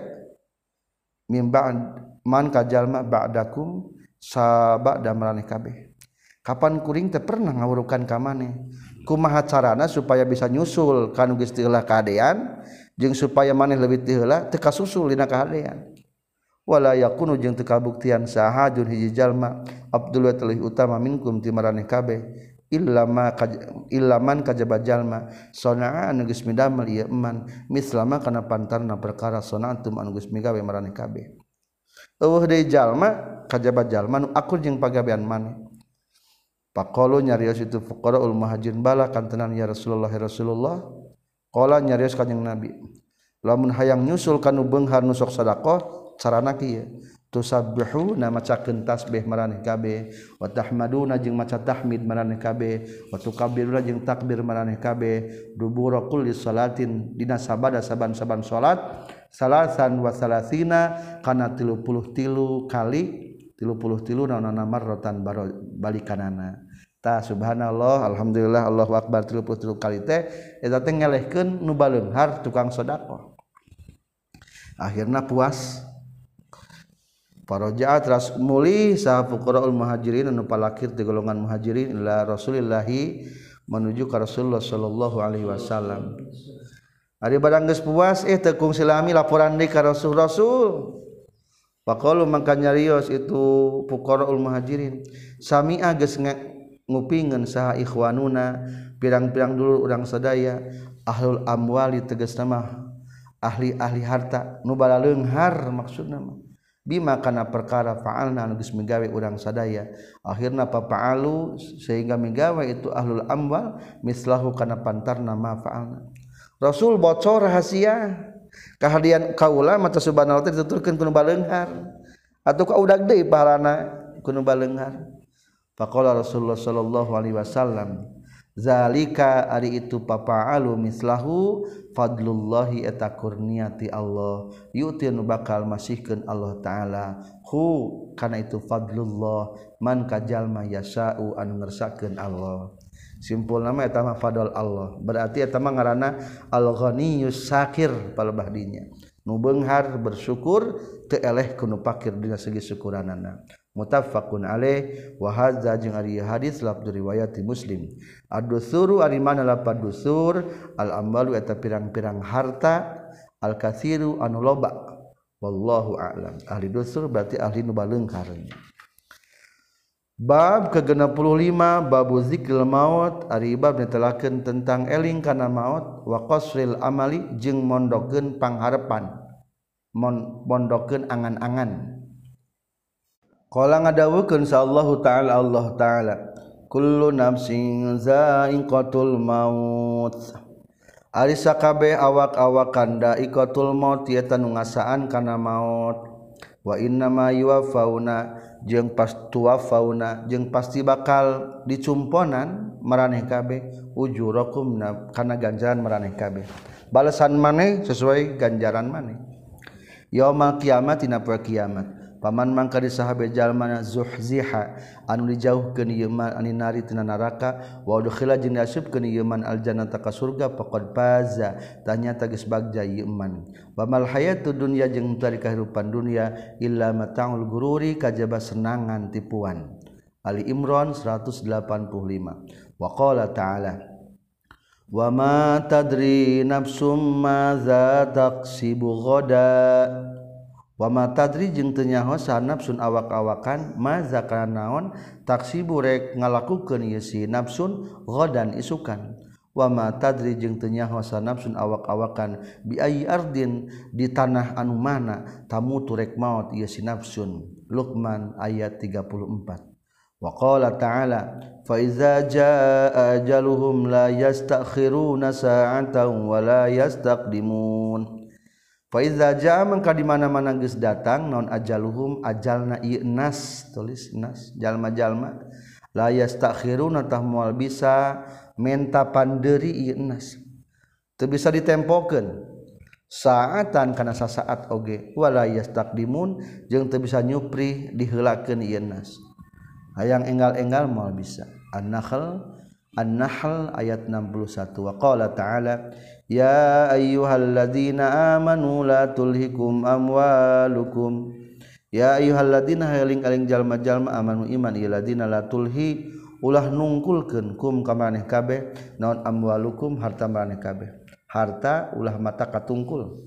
mimba man ka jalma ba'dakum sabada maraneh kabeh. Kapan kuring teh pernah ngawurukan ka maneh kumaha carana supaya bisa nyusul kanu geus teu heula kahadean jeung supaya maneh leuwih teu heula teu kasusul dina kahadean wala yakunu jeung teu kabuktian sahajun hiji jalma abdul wa utama minkum ti maraneh kabeh illa ma illa man kajaba jalma sonaa anu geus midamel ieu eman mislama kana pantarna perkara sonaatum anu geus migawe maraneh kabeh eueuh deui jalma kajaba jalma nu akur jeung pagawean maneh. Faqalu nyarios itu fuqaraul muhajirin bala kantenan ya Rasulullah ya Rasulullah qala nyarios kanjing Nabi lamun hayang nyusul kanu beunghar nu sok sedekah carana kieu tusabbihu na macakeun tasbih maraneh kabeh wa tahmaduna jeung maca tahmid maraneh kabeh wa tukabbiruna jeung takbir maraneh kabeh dubura kulli salatin dina sabada saban-saban salat salasan wa salasina kana tilu puluh tilu kali tilu puluh tilu naonana marratan balikanana ta subhanallah alhamdulillah Allahu akbar tilu puluh tilu kali teh eta teh ngelehkeun nu baleunghar tukang sedekah akhirna puas faraja'a teras muli saha fuqaraul muhajirin anu palakir ti golongan muhajirin ila Rasulillah menuju ka Rasulullah sallallahu alaihi wasallam ari barang geus puas eh teu kungsi lami laporan deui ka Rasul Rasul. Faqalu maka nyarios itu fuqaraul muhajirin sami'a geus ngupingeun saha ikhwanuna pirang-pirang dulur urang sadaya ahlul amwali tegasna mah ahli-ahli harta nu balaleunghar maksudna mah bima kana perkara fa'alna anu geus migawe urang sadaya akhirna papa'alu sehingga migawe itu ahlul amwal mislahu kana pantarna ma fa'alna. Rasul bocor rahasia kahadian kaula mata subhanallah teh dituturkeun ku nu baleunghar atuh ka udag deui pahalana ku nu baleunghar. Faqala Rasulullah sallallahu alaihi wasallam zalika ari itu papa'alu mislahu fadlullahi eta kurniati Allah yuti nu bakal masihkeun Allah taala hu kana itu fadlullah man ka jalma yasau anu ngersakakeun Allah. simpul nama eta mah fadl Allah berarti eta mah ngaranna al-ghaniyus syakir palebah dinya nu beunghar bersyukur teu eleh ku nu pakir dina segi syukuranana muttafaqun alaih wa hadza jeung ari hadis lafzu riwayat Muslim ad-dusuru ari mana lapad dusur al-amalu eta pirang-pirang harta al-katsiru anu loba wallahu a'lam ahli dusur berarti ahli nu baleungkar bab ke genep puluh lima babu zikril maut ari bab netelakeun tentang eling kana maut wa qasril amali jeung mondokeun pangharepan mondokeun angan-angan qala ngadawukeun sallallahu taala Allah taala kullu nafsin za'iqatul maut ari sakabeh awak-awakan da'iqatul maut eta nu ngasaan kana maut wa innama yuwaffauna jeung pas tuwafauna jeung pasti bakal dicumponan maraneh kabeh ujurakum kana ganjaran maraneh kabeh balasan maneh sesuai ganjaran maneh yaumul kiamat dina poe kiamat paman mangka di sahabe jalmana zuhziha anu dijauhkeun ieu man aninari tina neraka wa udkhila jeung diasupkeun ieu man aljannata ka surga faqad faza tanyata geus bagja ieu man wa mal hayatud dunya jeung tari kahirupan dunya illa mata'ul gururi kajaba senangan tipuan Ali Imran seratus delapan puluh lima wa qala ta'ala wa ma tadri nafsum madza taksibu ghada wa ma tadri jeung teu nyaho nafsun awak-awakan maza kana naon taksibu rek ngalakukeun ieu si nafsun ghadan isukan wa ma tadri jeung teu nyaho nafsun awak-awakan bi ayyi ardin di tanah anu mana tamutu rek maut ieu si nafsun Luqman ayat tiga puluh empat wa qala ta'ala fa iza jaa ajaluhum la yastakhiruna sa'atan wa la yastaqdimun fa iza jaa mangka di mana-mana geus datang naon ajaluhum ajalna ieu nas tulis nas jalma-jalma la yastakhiruna tah moal bisa menta pandeuri ieu nas teu bisa ditempokeun saatan kana sasaat oge wala yastaqdimun jeung teu bisa nyupri diheulakeun ieu nas hayang enggal-enggal moal bisa an-nahl An-Nahl ayat enam puluh satu wa qala ta'ala ya ayyuhalladzina amanu la tulhikum amwalukum ya ayyuhalladzina haling-aling jalma-jalma amanu iman ieu ladina la tulhi ulah nungkulkeun kum ka maneh kabeh naon amwalukum harta maneh kabeh harta ulah mata katungkul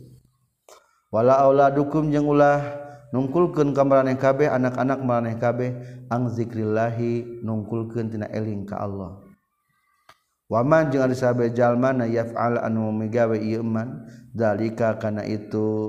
wala auladukum jeung ulah nungkulkeun ka maneh kabeh anak-anak maneh kabeh ang zikrillahi nungkulkeun tina eling ka Allah waman jeung ari sahabe jalmana yaf'al anu migawe ieu man zalika kana itu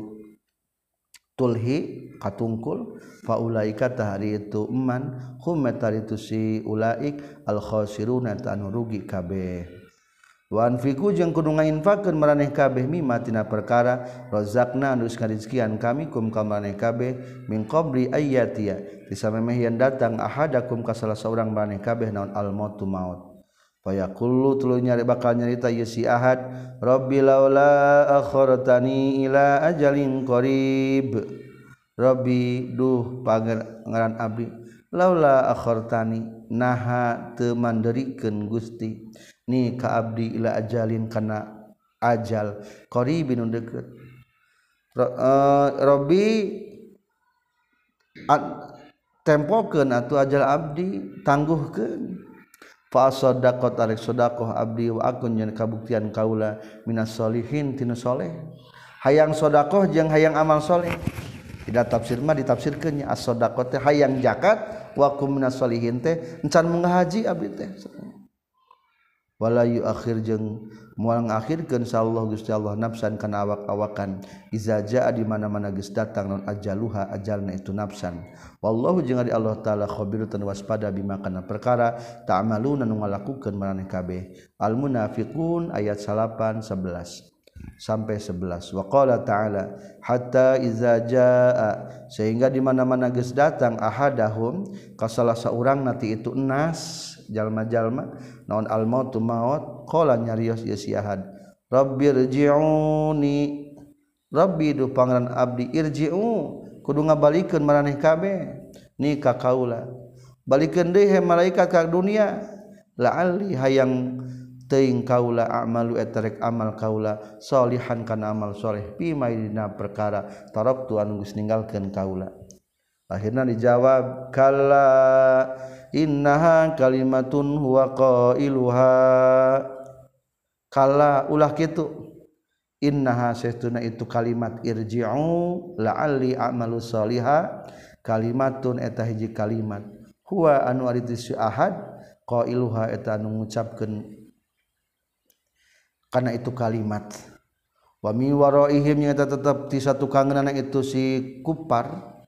tulhi katungkul faulaika tahari itu eman hum itu si ulaik al khasiruna anu rugi kabeh wa anfiqu jeung kudu ngainfaqkeun maraneh kabeh mimma tina perkara razaqna anu rezekian kami kum ka maraneh kabeh min qabli ayyatia disamemeh yen datang ahadakum ka salah saurang maraneh kabeh naon al mautu maut fayaqulu tuluy nyari bakal nyarita ieu si ahad rabbi laula akhartani ila ajalin qarib rabbi duh pangeran abdi laula akhartani naha teu manderikeun Gusti ni ka abdi ila ajalin kana ajal qaribin nu deukeut rabbi tempokeun atuh ajal abdi tangguhkeun fa sadaqat arek sedekah abdi wa akun yen kabuktian kaula minas solihin tina soleh hayang sedekah jeung hayang amal soleh tidak tafsir mah ditafsirkeun nya as-sadaqah teh hayang zakat wa kum minas solihin teh encan munggah haji abdi teh wala yuakhir jeung moal ngakhirkeun sallallahu Gusti Allah nafsan kana awak-awakan iza jaa di mana-mana geus datang non ajaluha ajalna itu nafsan wallahu jeung ari Allah taala khabirun waspada bima kana perkara ta'maluna nu ngalakukeun maraneh kabeh al munafiqun ayat salapan sebelas sampai sebelas wa qala ta'ala hatta iza jaa sehingga di mana-mana geus datang ahadahum ka salah saurang nanti itu enas jalma-jalma naon al mautu maut qala nyarios ieu si ahad rabbirji'uni rabbi du pangeran abdi irji'u kudu ngabalikeun maraneh kabeh ni ka kaula balikeun deui he malaikat ka dunia la'alli hayang teuing kaula a'malu etarek amal kaula sholihan kana amal soleh bima dina perkara taraktu anu geus ninggalkeun kaula. Akhirna dijawab kalla innaha kalimatun huwa qailuha kalla ulah kitu innaha saestuna itu kalimat irji'u la'alli a'malu sholiha kalimatun eta hiji kalimat huwa anu ari teu ahad qailuha eta anu ngucapkeun kana itu kalimat wa mi waraihim nyata tetep ti satukangeunna itu si kupar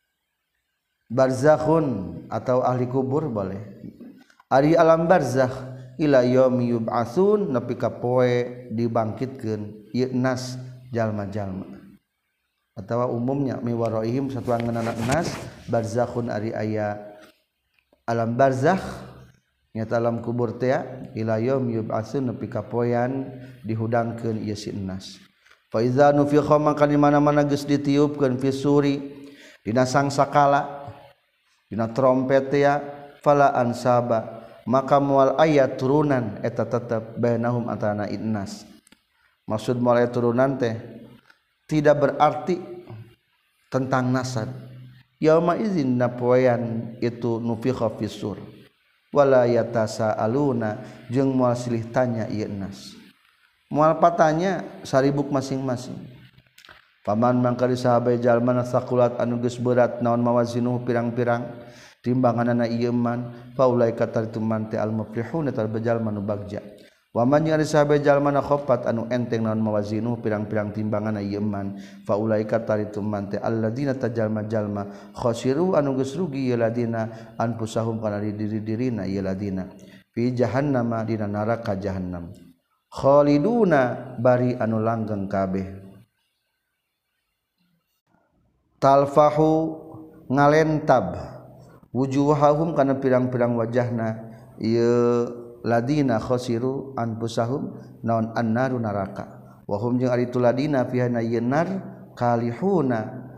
barzakhun atau ahli kubur boleh ari alam barzakh ila yaumi yub'atsun nepi ka poe dibangkitkeun ieu nas jalma-jalma atawa umumnya mi waraihim satuangeunna nas barzakhun ari aya alam barzakh nyata alam kubur teh ila yaumi yub'atsun nepi ka poean dihudangkeun ieu si nas fa iza nufikha maka di mana-mana geus ditiupkeun fi suri dina sangsakala dina trompet ya fala ansaba maka moal aya turunan eta tetep bainahum antara innas maksud moal aya turunan teh tidak berarti tentang nasab yauma izin napoean itu nufikha fisur wala yatasaaluna jeung moal silih tanya ieu nas moal patanya saribuk masing-masing paman mangka sahabat jalma sakulat anu geus berat naon mawazinu pirang-pirang timbanganna ieu man faulaika taritu man teh al muflihun eta jalma nu bagja wa man yang sahabat jalma khafat anu enteng naon mawazinu pirang-pirang timbanganna ieu man faulaika taritu man teh alladzina tajalma-jalma khasiru anu geus rugi ieu ladina anfusahum kana diri-dirina ieu ladina fi jahannam dina neraka jahannam khaliduna bari anu langgeng kabeh talfahu ngalentab wujuhahum kana pirang-pirang wajahna ieu ladina khasiru anfusahum naon annaru naraka wa hum jeung ari tu ladina fiha yenar kalihuna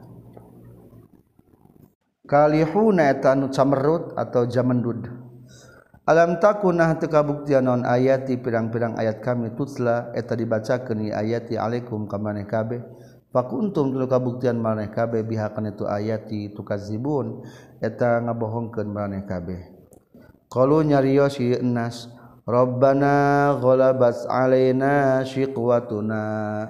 kalihuna eta anu camerut atau jamendud alam takunah teu kabuktian naon ayati pirang-pirang ayat kami tutla eta dibacakeun ayati alaikum ka maneh kabeh fakuntum tuluy kabuktian maneh kabeh biha kana itu ayati tukazibun eta ngabohongkeun maneh kabeh qalu nyarios ieu nas rabbana ghalabat alaina shiqwatuna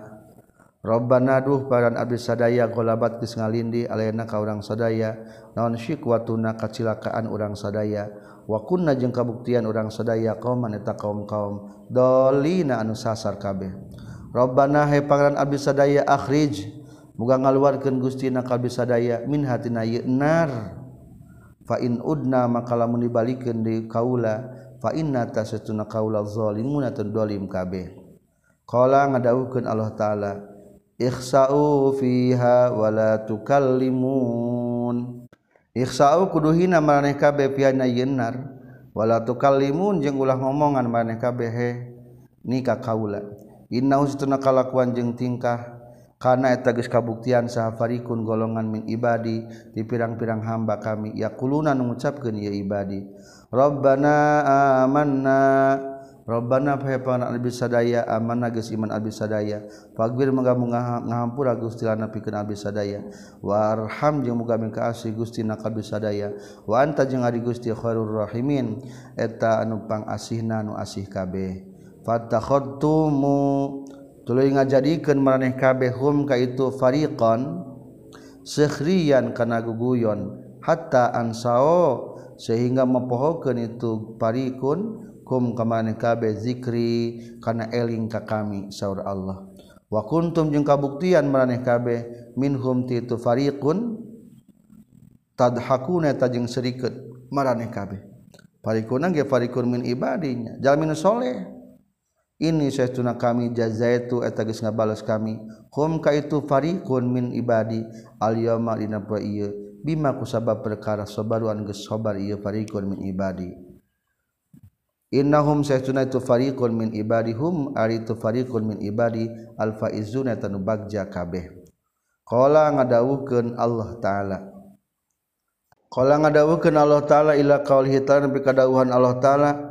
rabbana duh paran abdi sadaya ghalabat geus ngalindi alaina ka urang sadaya naon shiqwatuna kacilakaan urang sadaya wa kunna jeung kabuktian urang sadaya qauman eta kaum-kaum dolina anu sasar kabeh Rabbana hai pangeran abdi sadaya akhrij muga ngaluarkeun Gustina ka abdi sadaya min hatina ieu nar fa in udna maka lamun dibalikeun di kaula fa inna tasatuna kaula zalimuna tadzalim kabeh qala ngadawuhkeun Allah taala ikhsa'u fiha wala tukallimun ikhsa'u kuduhina maraneh kabeh piana ieu nar wala tukallimun jeung ulah ngomongan maraneh kabeh he ni ka kaula innahu satuna kalakuan jeung tingkah kana eta geus kabuktian saha farikun golongan min ibadi di pirang-pirang hamba kami yaquluna nu ngucapkeun ieu ibadi rabbana amanna rabbana fa pana abdi sadaya amanna geus iman abdi sadaya faghfir muga ngahampura Gusti lana pikeun abdi sadaya warham jeung muga mingka asih Gusti na abdi sadaya wa anta jeung ari Gusti khairur rahimin eta anu pangasihna nu asih kabeh fattakhadtumu tuluy ngajadikeun maraneh kabeh hum ka itu fariqan sekhriyan kana guguyon hatta ansao sehingga mempohokeun itu fariqun kum ka maraneh kabeh zikri kana eling ka kami saur Allah wa kuntum jeung kabuktian maraneh kabeh minhum ti itu fariqun tadhakuna ta jeung serikeut maraneh kabeh fariqun ge fariqun min ibadinya jalmin saleh ini saestuna kami jazaitu eta geus ngabales kami hum ka itu fariqun min ibadi al yauma dina poe ieu bima kusabab perkara sabaru an geus sabar ieu fariqun min ibadi innahum saestuna itu fariqun min ibadihum ari itu fariqun min ibadi al faizuna tanu bagja kabeh qala ngadawuhkeun Allah taala qala ngadawuhkeun Allah taala ila qaulih ta'ala bi kadawuhan Allah taala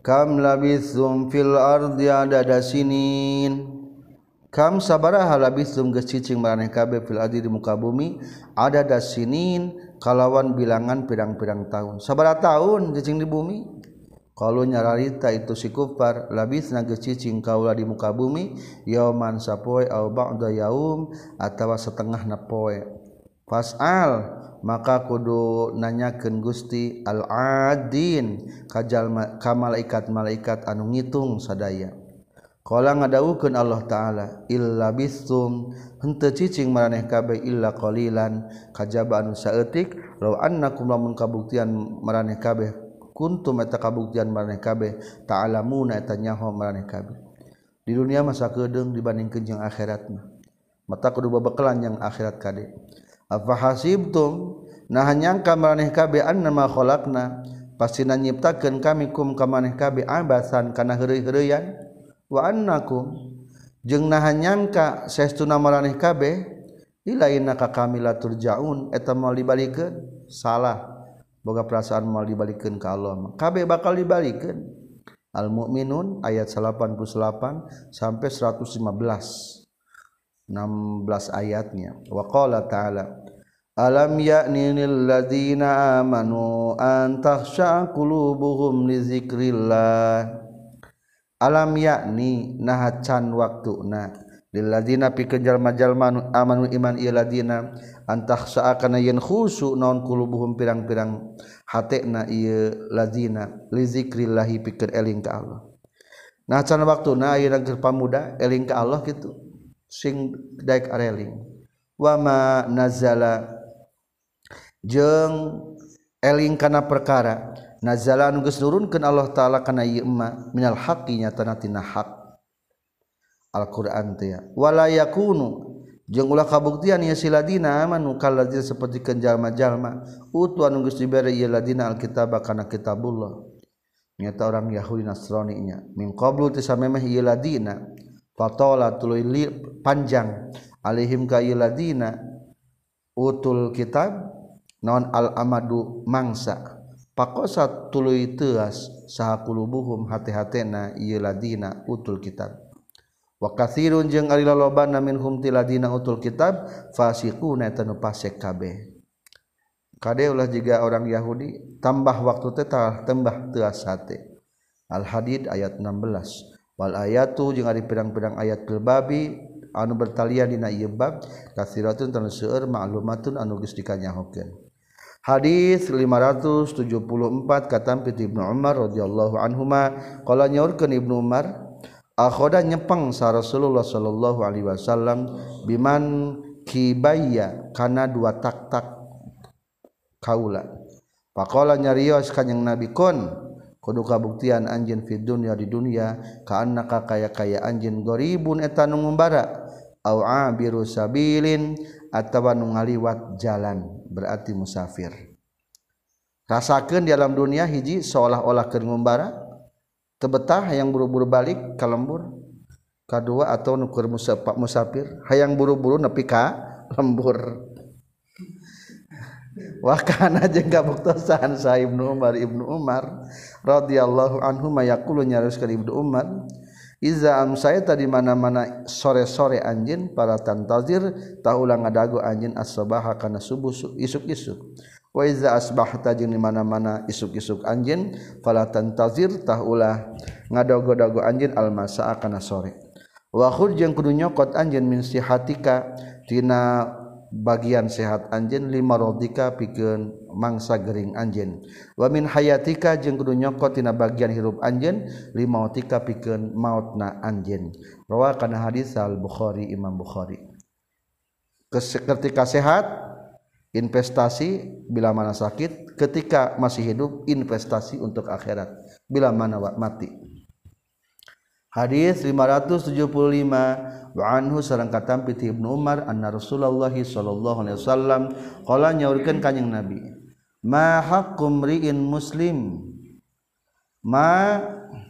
kam labithum fil ardi adada sinin kam sabaraha labithum geus cicing maraneh kabeh fil ardi di muka bumi adada sinin kalawan bilangan pirang-pirang tahun. Sabaraha tahun cicing di bumi? Kalau nyararita itu si kufar labithna geus cicing kaula di muka bumi yauman sapoe au ba'da yaum atawa setengahna poe. Fas'al maka kudu nanyakeun Gusti al-adin kajal ka malaikat-malaikat anu ngitung sadaya. Qala ngadawukeun Allah taala illa bisum henteu cicing maraneh kabeh illa qalilan kajaba anu saeutik law annakum lamun kabuktian maraneh kabeh kuntum eta kabuktian maraneh kabeh ta'lamuna eta nyaho maraneh kabeh. Di dunia masa kedeung dibandingkeun jeung akhirat mah mata kudu babekelan yang akhirat kade. Afa hasibtum nah nyangka maraneh kabeh annama khalaqna pastina nyiptakeun kami kum ka maneh kabeh abasan kana heureuy-heureuyan wa annakum jeung naha nyangka saestuna maraneh kabeh ilaina ka kami la turjaun eta moal dibalikeun salah boga perasaan moal dibalikeun ka Allah kabeh bakal dibalikeun. Al Mukminun ayat delapan puluh delapan sampai seratus lima belas enam belas ayatnya. Wa qala ta'ala alam ya'ni lil ladzina amanu an takhsha qulubuhum li dzikrillah. Alam yakni nah can waktuna lil ladina pikeun jalma-jalma amanu iman ieu ladina antakhsa kana yen khusu naon qulubuhum pirang-pirang hatena ieu ladina li zikrillah pikeun eling ka Allah. Nah can waktuna ayeuna keur pamuda eling ka Allah kitu sing daek areling. Wa ma nazala jeung eling kana perkara nazala anu geus nurunkeun Allah taala kana ieu emma minal haqqi nyatana tina hak Al-Qur'an teh ya. Wala yakunu jeung ulah kabuktian ieu siladina amanu kalladzina sapertikeun jalma-jalma utu anu geus dibere ieu ladina alkitaba kana kitabullah nyata orang Yahudi Nasrani nya min qablu teh samemeh ieu ladina fatola tuluy panjang alaihim ka ieu ladina utul kitab naon al amadu mangsa pakosat tuluy teuas saha qulubuhum hati-hatena ieu ladina utul kitab wa katsirun jeung ari lolobana minhum ti ladina utul kitab fasiquna eta nu fasik kabeh kade ulah jiga orang Yahudi tambah waktu teh tah tembah teuas hate. Al Hadid ayat enam belas wal ayatu jeung ari pirang-pirang ayat fil babi anu bertalian dina ieu bab katsiratun tanu seueur ma'lumatun anu geus dikanyahokeun. Hadis lima ratus tujuh puluh empat katampi Ibnu Umar radhiyallahu anhuma qala nyaurkeun Ibnu Umar akhoda nyepeng sa Rasulullah sallallahu alaihi wasallam biman kibaya kana dua tak-tak kaula faqala nyarios kanjing Nabi kon kudu kabuktian anjeun fi dunya di dunya ka annaka kaya-kaya anjeun goribun eta nu ngumbara au abiru sabilin atawa nu ngaliwat jalan berarti musafir. Rasakeun di alam dunia hiji seolah-olah keur ngumbara teu betah hayang buru-buru balik ka lembur. Kadua atau nu keur musafir hayang buru-buru nepi ka lembur. Wa kana jeung kabuktosan sa Ibnu Umar Ibnu Umar radhiyallahu anhu mayaqulu nyaroskeun Ibnu Umar iza amsayta di mana-mana sore-sore anjeun para tantazir taulah ngadago anjeun as-sabaha kana subuh isuk-isuk wa iza asbahta jeung di mana-mana isuk-isuk anjeun fala tantazir taulah ngadago-dago anjeun al-masaa kana sore wa khud jeung kudu nyokot anjeun min sihatika tina bagian sehat anjeun lima rodika pikeun mangsa gering anjeun wa min hayatika jeung kudu nyokot tina bagian hirup anjeun lima otika pikeun mautna anjeun rawa kana hadis al Bukhari Imam Bukhari. Ketika sehat investasi bila mana sakit, ketika masih hidup investasi untuk akhirat bila mana mati. Hadis lima ratus tujuh puluh lima wa anhu sareng katampi ti Ibnu Umar anna Rasulullah sallallahu alaihi wasallam qala nyaurkeun kanjing Nabi ma haqqum ri'in muslim ma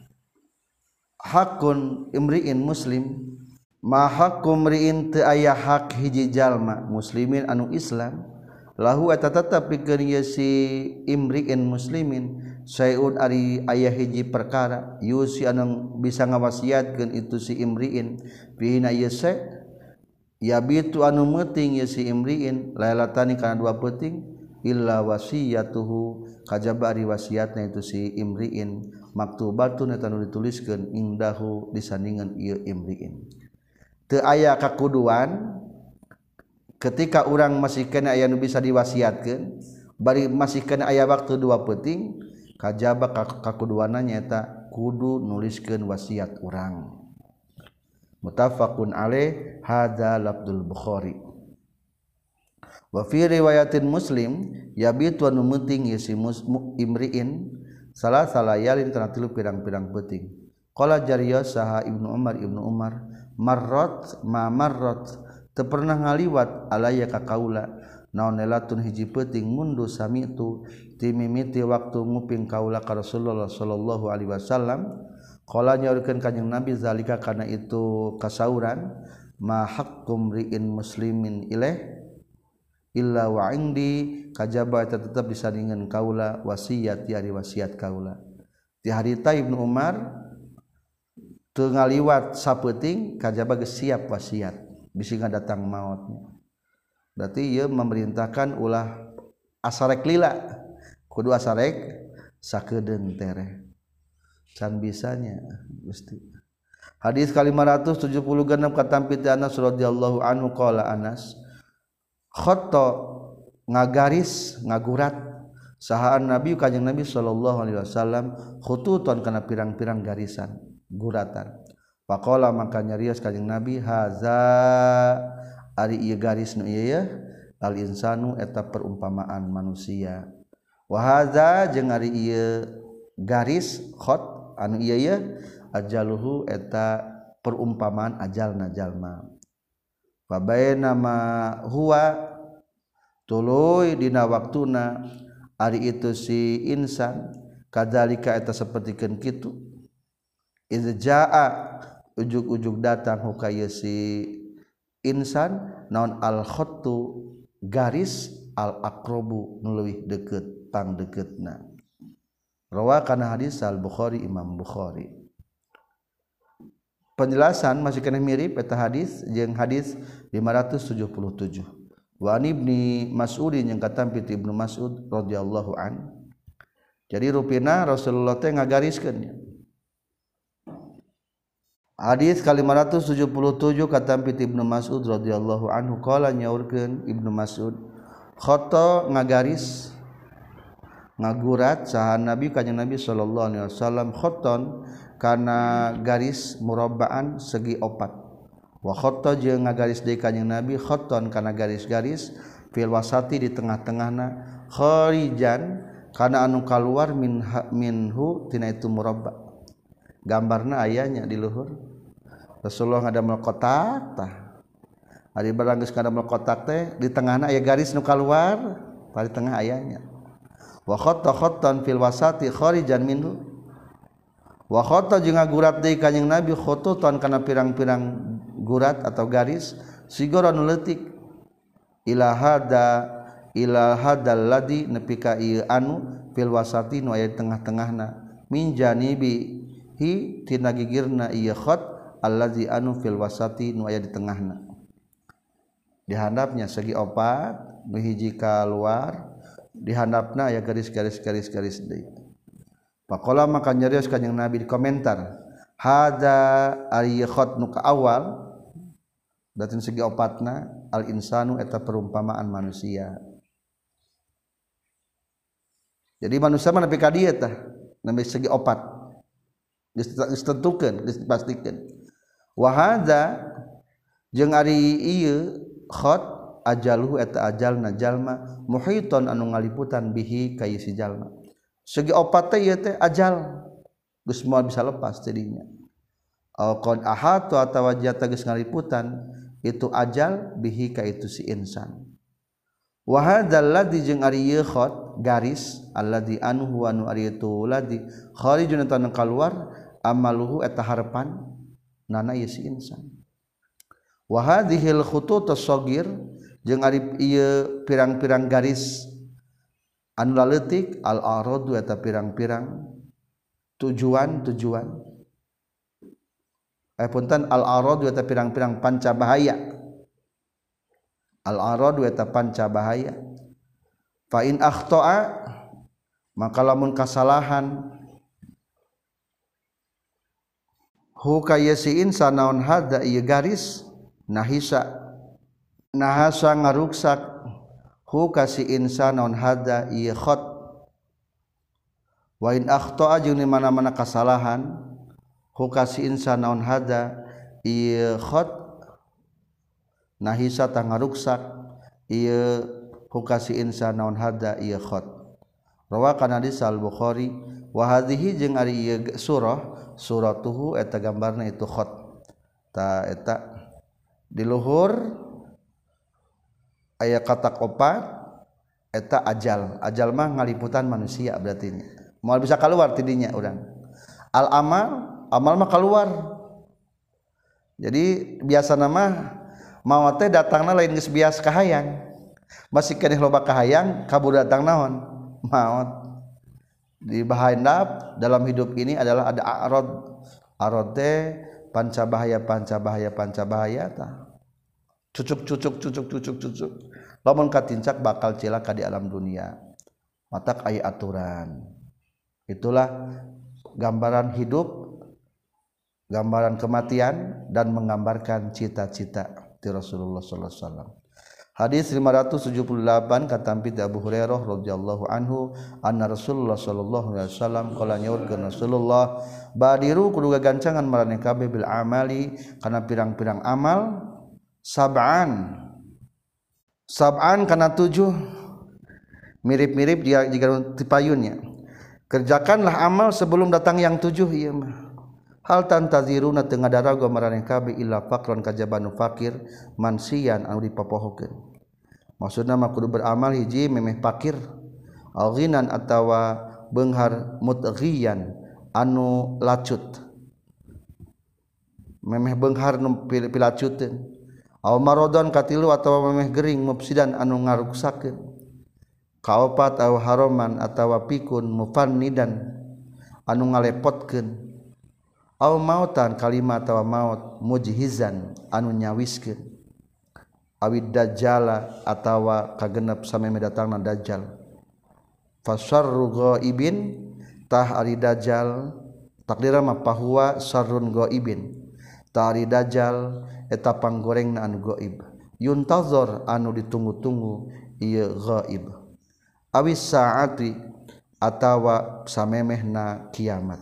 haqqun imri'in muslim ma haqqum ri'in teu aya hak hiji jalma muslimin anu Islam lahu eta tetep pikeun ieu si imri'in muslimin sayun ari ayah hiji perkara yusi anu bisa ngawasiatkeun itu si imriin bihina yese yabitu anu meuting ye si imriin lailatani kana dua peuting illa wasiyatuhu kajaba ari wasiatna itu si imriin maktubatun eta nu dituliskeun indahu disandingan ieu imriin teu aya kakuduan ketika urang masih kena aya nu bisa diwasiatkeun bari masih kena aya waktu dua peuting kajaba kakuduana nyaeta kudu nuliskeun wasiat urang. Muttafaqun alaih hadza lafdzul Bukhari. Wa fi riwayatin Muslim yabitu anu meuting ieu si imriin salasa layalin kana tilu pirang-pirang peuting. Qala Jariyas saha Ibnu Umar Ibnu Umar marrat ma marrat teu pernah ngaliwat alaya ka kaula naon elatun hiji peuting mundu samitu ti mimiti waktu nguping kaula ka Rasulullah sallallahu alaihi wasallam. Qala nyaurkeun kanjing Nabi zalika kana itu kasauran ma haqqum ri'in muslimin ilaih illa wa indi kajaba tetep disandingan kaula wasiat ari wasiat kaula. Ti harita Ibnu Umar teu ngaliwat sapeuting kajaba geus siap wasiat bisi ngadatang mautnya. Berarti ieu memerintahkan ulah asarek lila kudu asarek sakedeung tereh. Can bisanya Gusti. Hadis ka lima ratus tujuh puluh genep katampi ti Anas radhiyallahu anhu qala Anas khatta ngagaris ngagurat sahaan Nabi kanjing Nabi sallallahu alaihi wasallam khututon kana pirang-pirang garisan guratan. Faqala maka nyarios kanjing Nabi haza ari ieu garis nu ieu ya al insanu eta perumpamaan manusia. Wa haza jeung ari ieu garis khat anu ieu ya ajaluhu eta perumpamaan ajalna jalma. Fa bainama huwa tuluy dina waktuna ari itu si insan kadzalika eta sapertikeun kitu iz jaa ujug-ujug datang hukaya si insan naon al khattu garis al aqrabu nu leuwih deukeut pangdeuketna. Rawa kana hadis al Bukhari Imam Bukhari. Penjelasan masih kena mirip eta hadis jeung hadis lima ratus tujuh puluh tujuh. Wa Ibnu Mas'ud yang katampi ti Ibnu Mas'ud radhiyallahu an. Jadi rupina Rasulullah teh ngagariskeun. Hadis ka lima ratus tujuh puluh tujuh katampi ti Ibnu Mas'ud radhiyallahu anhu qala nyaurkeun Ibnu Mas'ud khata ngagaris ngagurat saha Nabi kanjeng Nabi sallallahu alaihi wasallam khaton kana garis murabbaan segi opat wa khatta jeung ngagaris deui kanjeng Nabi khaton kana garis-garis fil wasati di tengah-tengahna kharijan kana anu kaluar min minhu tina itu murabba gambarna ayanya di luhur Rasulullah ngadamel kotak tah ari barang geus ngadamel kotak teh di tengahna aya garis nu kaluar di tengah ayanya wa khatta khattan fil wasati kharijan minhu wa khatta jeung ngagurat deui kanjing Nabi khututan kana pirang-pirang gurat atau garis sigara nu leutik ila hada ila hadal ladzi nepi ka ieu anu fil wasati nu aya tengah-tengahna min janibi hi tina gigirna ieu khat allazi anu fil wasati nu aya di tengahna di handapnya segi opat nu hiji kaluar di handapna aya garis-garis garis-garis deui. Faqala maka nyarios kanjing Nabi di komentar hadza ari khat nu ka awal berarti segi opatna al insanu eta perumpamaan manusia. Jadi manusia mah nepi ka dieu tah nepi segi opat geus ditentukeun geus dipastikeun. Wa hadza jeung ari ieu khat ajaluhu eta ajalna jalma muhiton anu ngaliputan bihi ka si jalma segi opat teh ieu teh ajal geus moal bisa lepas tidinya au qad ahatu atawa jata geus ngaliputan itu ajal bihi ka itu si insan wa hadzal ladzi jeung ari ieu khat garis alladzi anu huwa nu ari itu ladzi kharijun tan kaluar amaluhu eta harapan nana ieu si insan wa hadhil khutut as-saghir jeung ari ieu pirang-pirang garis anu laletik al-aradu eta pirang-pirang tujuan-tujuan eh punten al-aradu eta pirang-pirang panca bahaya al-aradu eta panca bahaya fa in akhta'a maka lamun kasalahan hu kayasiin sanaon hada ieu garis nahisa nahasa ngaruksak hu kasi insan naon hada ieu khat wa in akhta'a jeung di mana-mana kasalahan hu kasi insan naon hada ieu khat nahisa tah ngaruksak ieu hu kasi insan naon hada ieu khat rawakan hadis al-Bukhari wa hadhihi jeung ari ieu surah suratuhu eta gambarna itu khat ta eta di luhur aya kata opat eta ajal ajal mah ngaliputan manusia berarti moal bisa keluar tidinya urang al amal amal mah keluar jadi biasa nama maot teh datangna lain geus bias kahayang masih keneh loba kahayang kabur datang naon maut di bahandap dalam hidup ini adalah ada arad arad teh panca bahaya panca bahaya panca bahaya tah cucuk cucuk cucuk cucuk cucuk lamun katincak bakal cilaka di alam dunia matak aya aturan itulah gambaran hidup gambaran kematian dan menggambarkan cita-cita ti Rasulullah sallallahu alaihi wasallam. Hadis lima ratus tujuh puluh delapan katampi ti Abu Hurairah radhiyallahu anhu anna Rasulullah sallallahu alaihi wasallam qala nyaurkeun Rasulullah badiru kudu gagancangan maraneh kabeh bil amali kana pirang-pirang amal sab'an sab'an kana tujuh mirip-mirip dia jika tipayunnya kerjakanlah amal sebelum datang yang tujuh ieu mah hal tantaziruna teu ngadaraga maraneh kabeh illa faqron kajabanu fakir mansian anu dipapohokeun maksudna mah kudu beramal hiji memeh fakir al ghinan atawa beunghar mutghiyan anu lacut memeh beunghar nu pilacuteun aw maradon katilu atawa memeh gering mufsidan anu ngaruksakeun kaopat aw haroman atawa pikun mufannidan anu ngalepotkeun aw mautan kalimat atawa maut mujhizan anu nyawiskeun awid dajjala atawa kagenep sameme datangna dajjal fasarru ghaibin tah ari dajjal takdira mah pahuwa sarrun ghaibin tah ari dajjal eta panggorengna anu ghaib yuntazor anu ditunggu-tunggu ieu ghaib awis saati atawa samemehna kiamat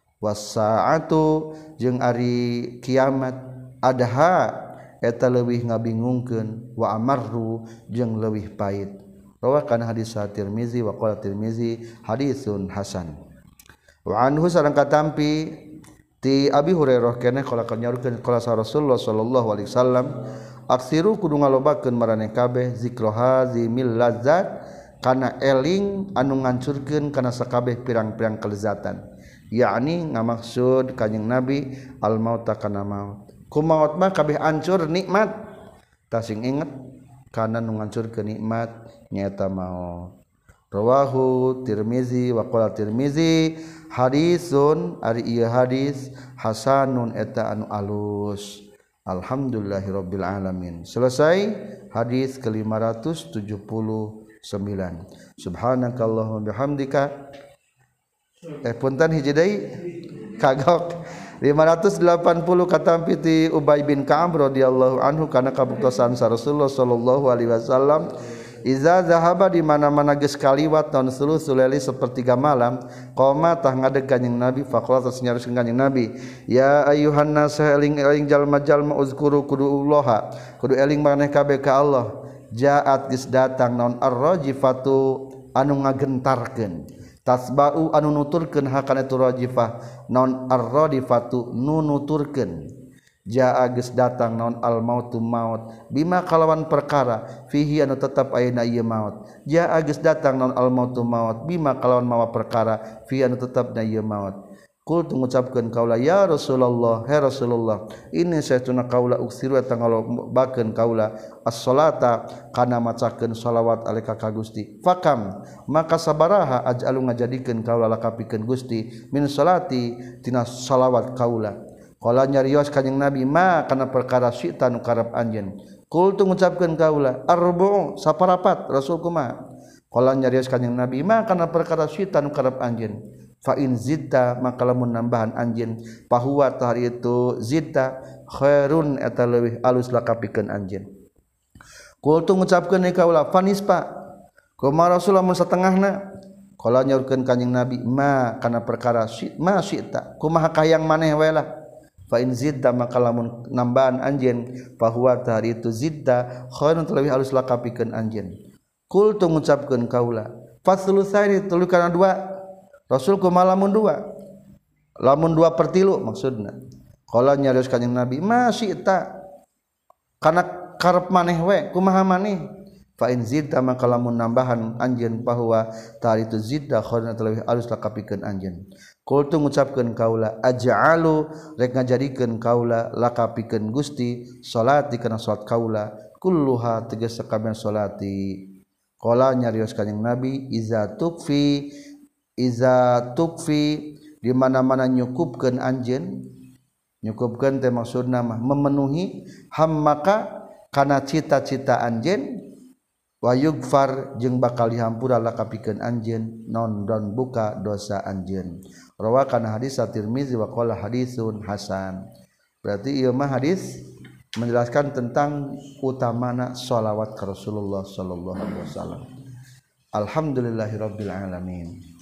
wasaatu jeung ari kiamat adha eta leuwih ngabingungkeun wa amarru jeung leuwih pait rawakan hadis Tirmizi wa qala Tirmizi hadisun hasan wa anhu sareng katampi ti Abi Hurairah keneh qala kanyaurkeun qala Rasulullah sallallahu alaihi wasallam aksiru kudu ngalobakeun maraneh kabeh zikra hazimil lazzat kana eling anu ngancurkeun kana sakabeh pirang-pirang kelezatan yakni ngamaksud kanjing Nabi al mauta kana maut ku maut mah kabeh hancur nikmat tasing inget kana nu ngancurkeun nikmat nyaeta maut rawahu Tirmizi wa qala Tirmizi hadisun ari ieu hadis hasanun eta anu alus alhamdulillahirabbil alamin selesai hadis ke lima ratus tujuh puluh sembilan subhanakallahumma bihamdika eh punten hiji deui kagok lima ratus delapan puluh katampi ti Ubay bin Ka'ab radhiyallahu anhu kana kabuktosan Rasulullah sallallahu alaihi wasallam iza zahaba di mana-mana geus kaliwat naon sulusul laili sapertiga malam qoma tah ngadeg kanjing Nabi faqala tos nyariskeun kanjing Nabi ya ayyuhan nas eling-eling jalma-jalma uzkuru kudullaha kudu eling maneh kabeh ka Allah jaat geus datang naon ar-rajifatu anu ngagentarkeun tasba'u anu nuturkeun hakana itu rajifah naon ar-radifatu nu nuturkeun jaa geus datang naon al mautu maut bima kalawan perkara fihi anu tetep ayeuna ieu maut jaa geus datang naon al mautu maut bima kalawan mawa perkara fihi anu tetepna ieu maut Qul mengucapkeun kaula ya Rasulullah he Rasulullah ini saytuna kaula uksiru eta ngalobakeun kaula as-salata kana macakeun shalawat alika ka Gusti fakam maka sabaraha aj'alu ngajadikeun kaula lakapikeun Gusti min salati tina shalawat kaula qala nyarios kanjing Nabi ma kana perkara syi'ta nu karep anjeun qul mengucapkeun kaula arbu saparapat Rasul kumaha qala nyarios kanjing Nabi ma kana perkara syi'ta nu karep anjeun fa in zidta maka lamun nambahan anjeun fahuwa tahari itu zidta khairun eta leuwih alus lakapikeun anjeun qul tu ngucapkeun ni kaula fanispa kumaha Rasulullah mun satengahna qala nyaurkeun kanjing Nabi ma kana perkara si ma syi'ta kumaha kayang maneh wae lah fa in zidta maka lamun nambahan anjeun fahuwa tahari itu zidta khairun leuwih alus lakapikeun anjeun qul tu ngucapkeun kaula fasulusaini tuluy kana dua Rasul kumaha lamun dua lamun dua per tilu maksudna qala nyarios kanjing Nabi ma syi'ta kana karep maneh we kumaha maneh fa in zidta maka lamun nambahan anjeun bahwa tari itu zidda khairun leuwih alus lakapikeun anjeun qul tu ngucapkeun kaula aj'alu rek ngajadikeun kaula lakapikeun Gusti salati kana salat kaula kulluha tegas sakabeh salati qala nyarios kanjing Nabi iza tukfi iza tukfi di mana-mana nyukupkeun anjeun nyukupkeun teh maksudna mah memenuhi hammaka kana cita-cita anjeun wa yugfar jeung bakal dihampura lakapikeun anjeun non dan buka dosa anjeun rawa kana hadis at-Tirmizi wa qala hadisun hasan berarti ieu mah hadis menjelaskan tentang utamana shalawat ka Rasulullah sallallahu alaihi wasallam alhamdulillahirabbil alamin.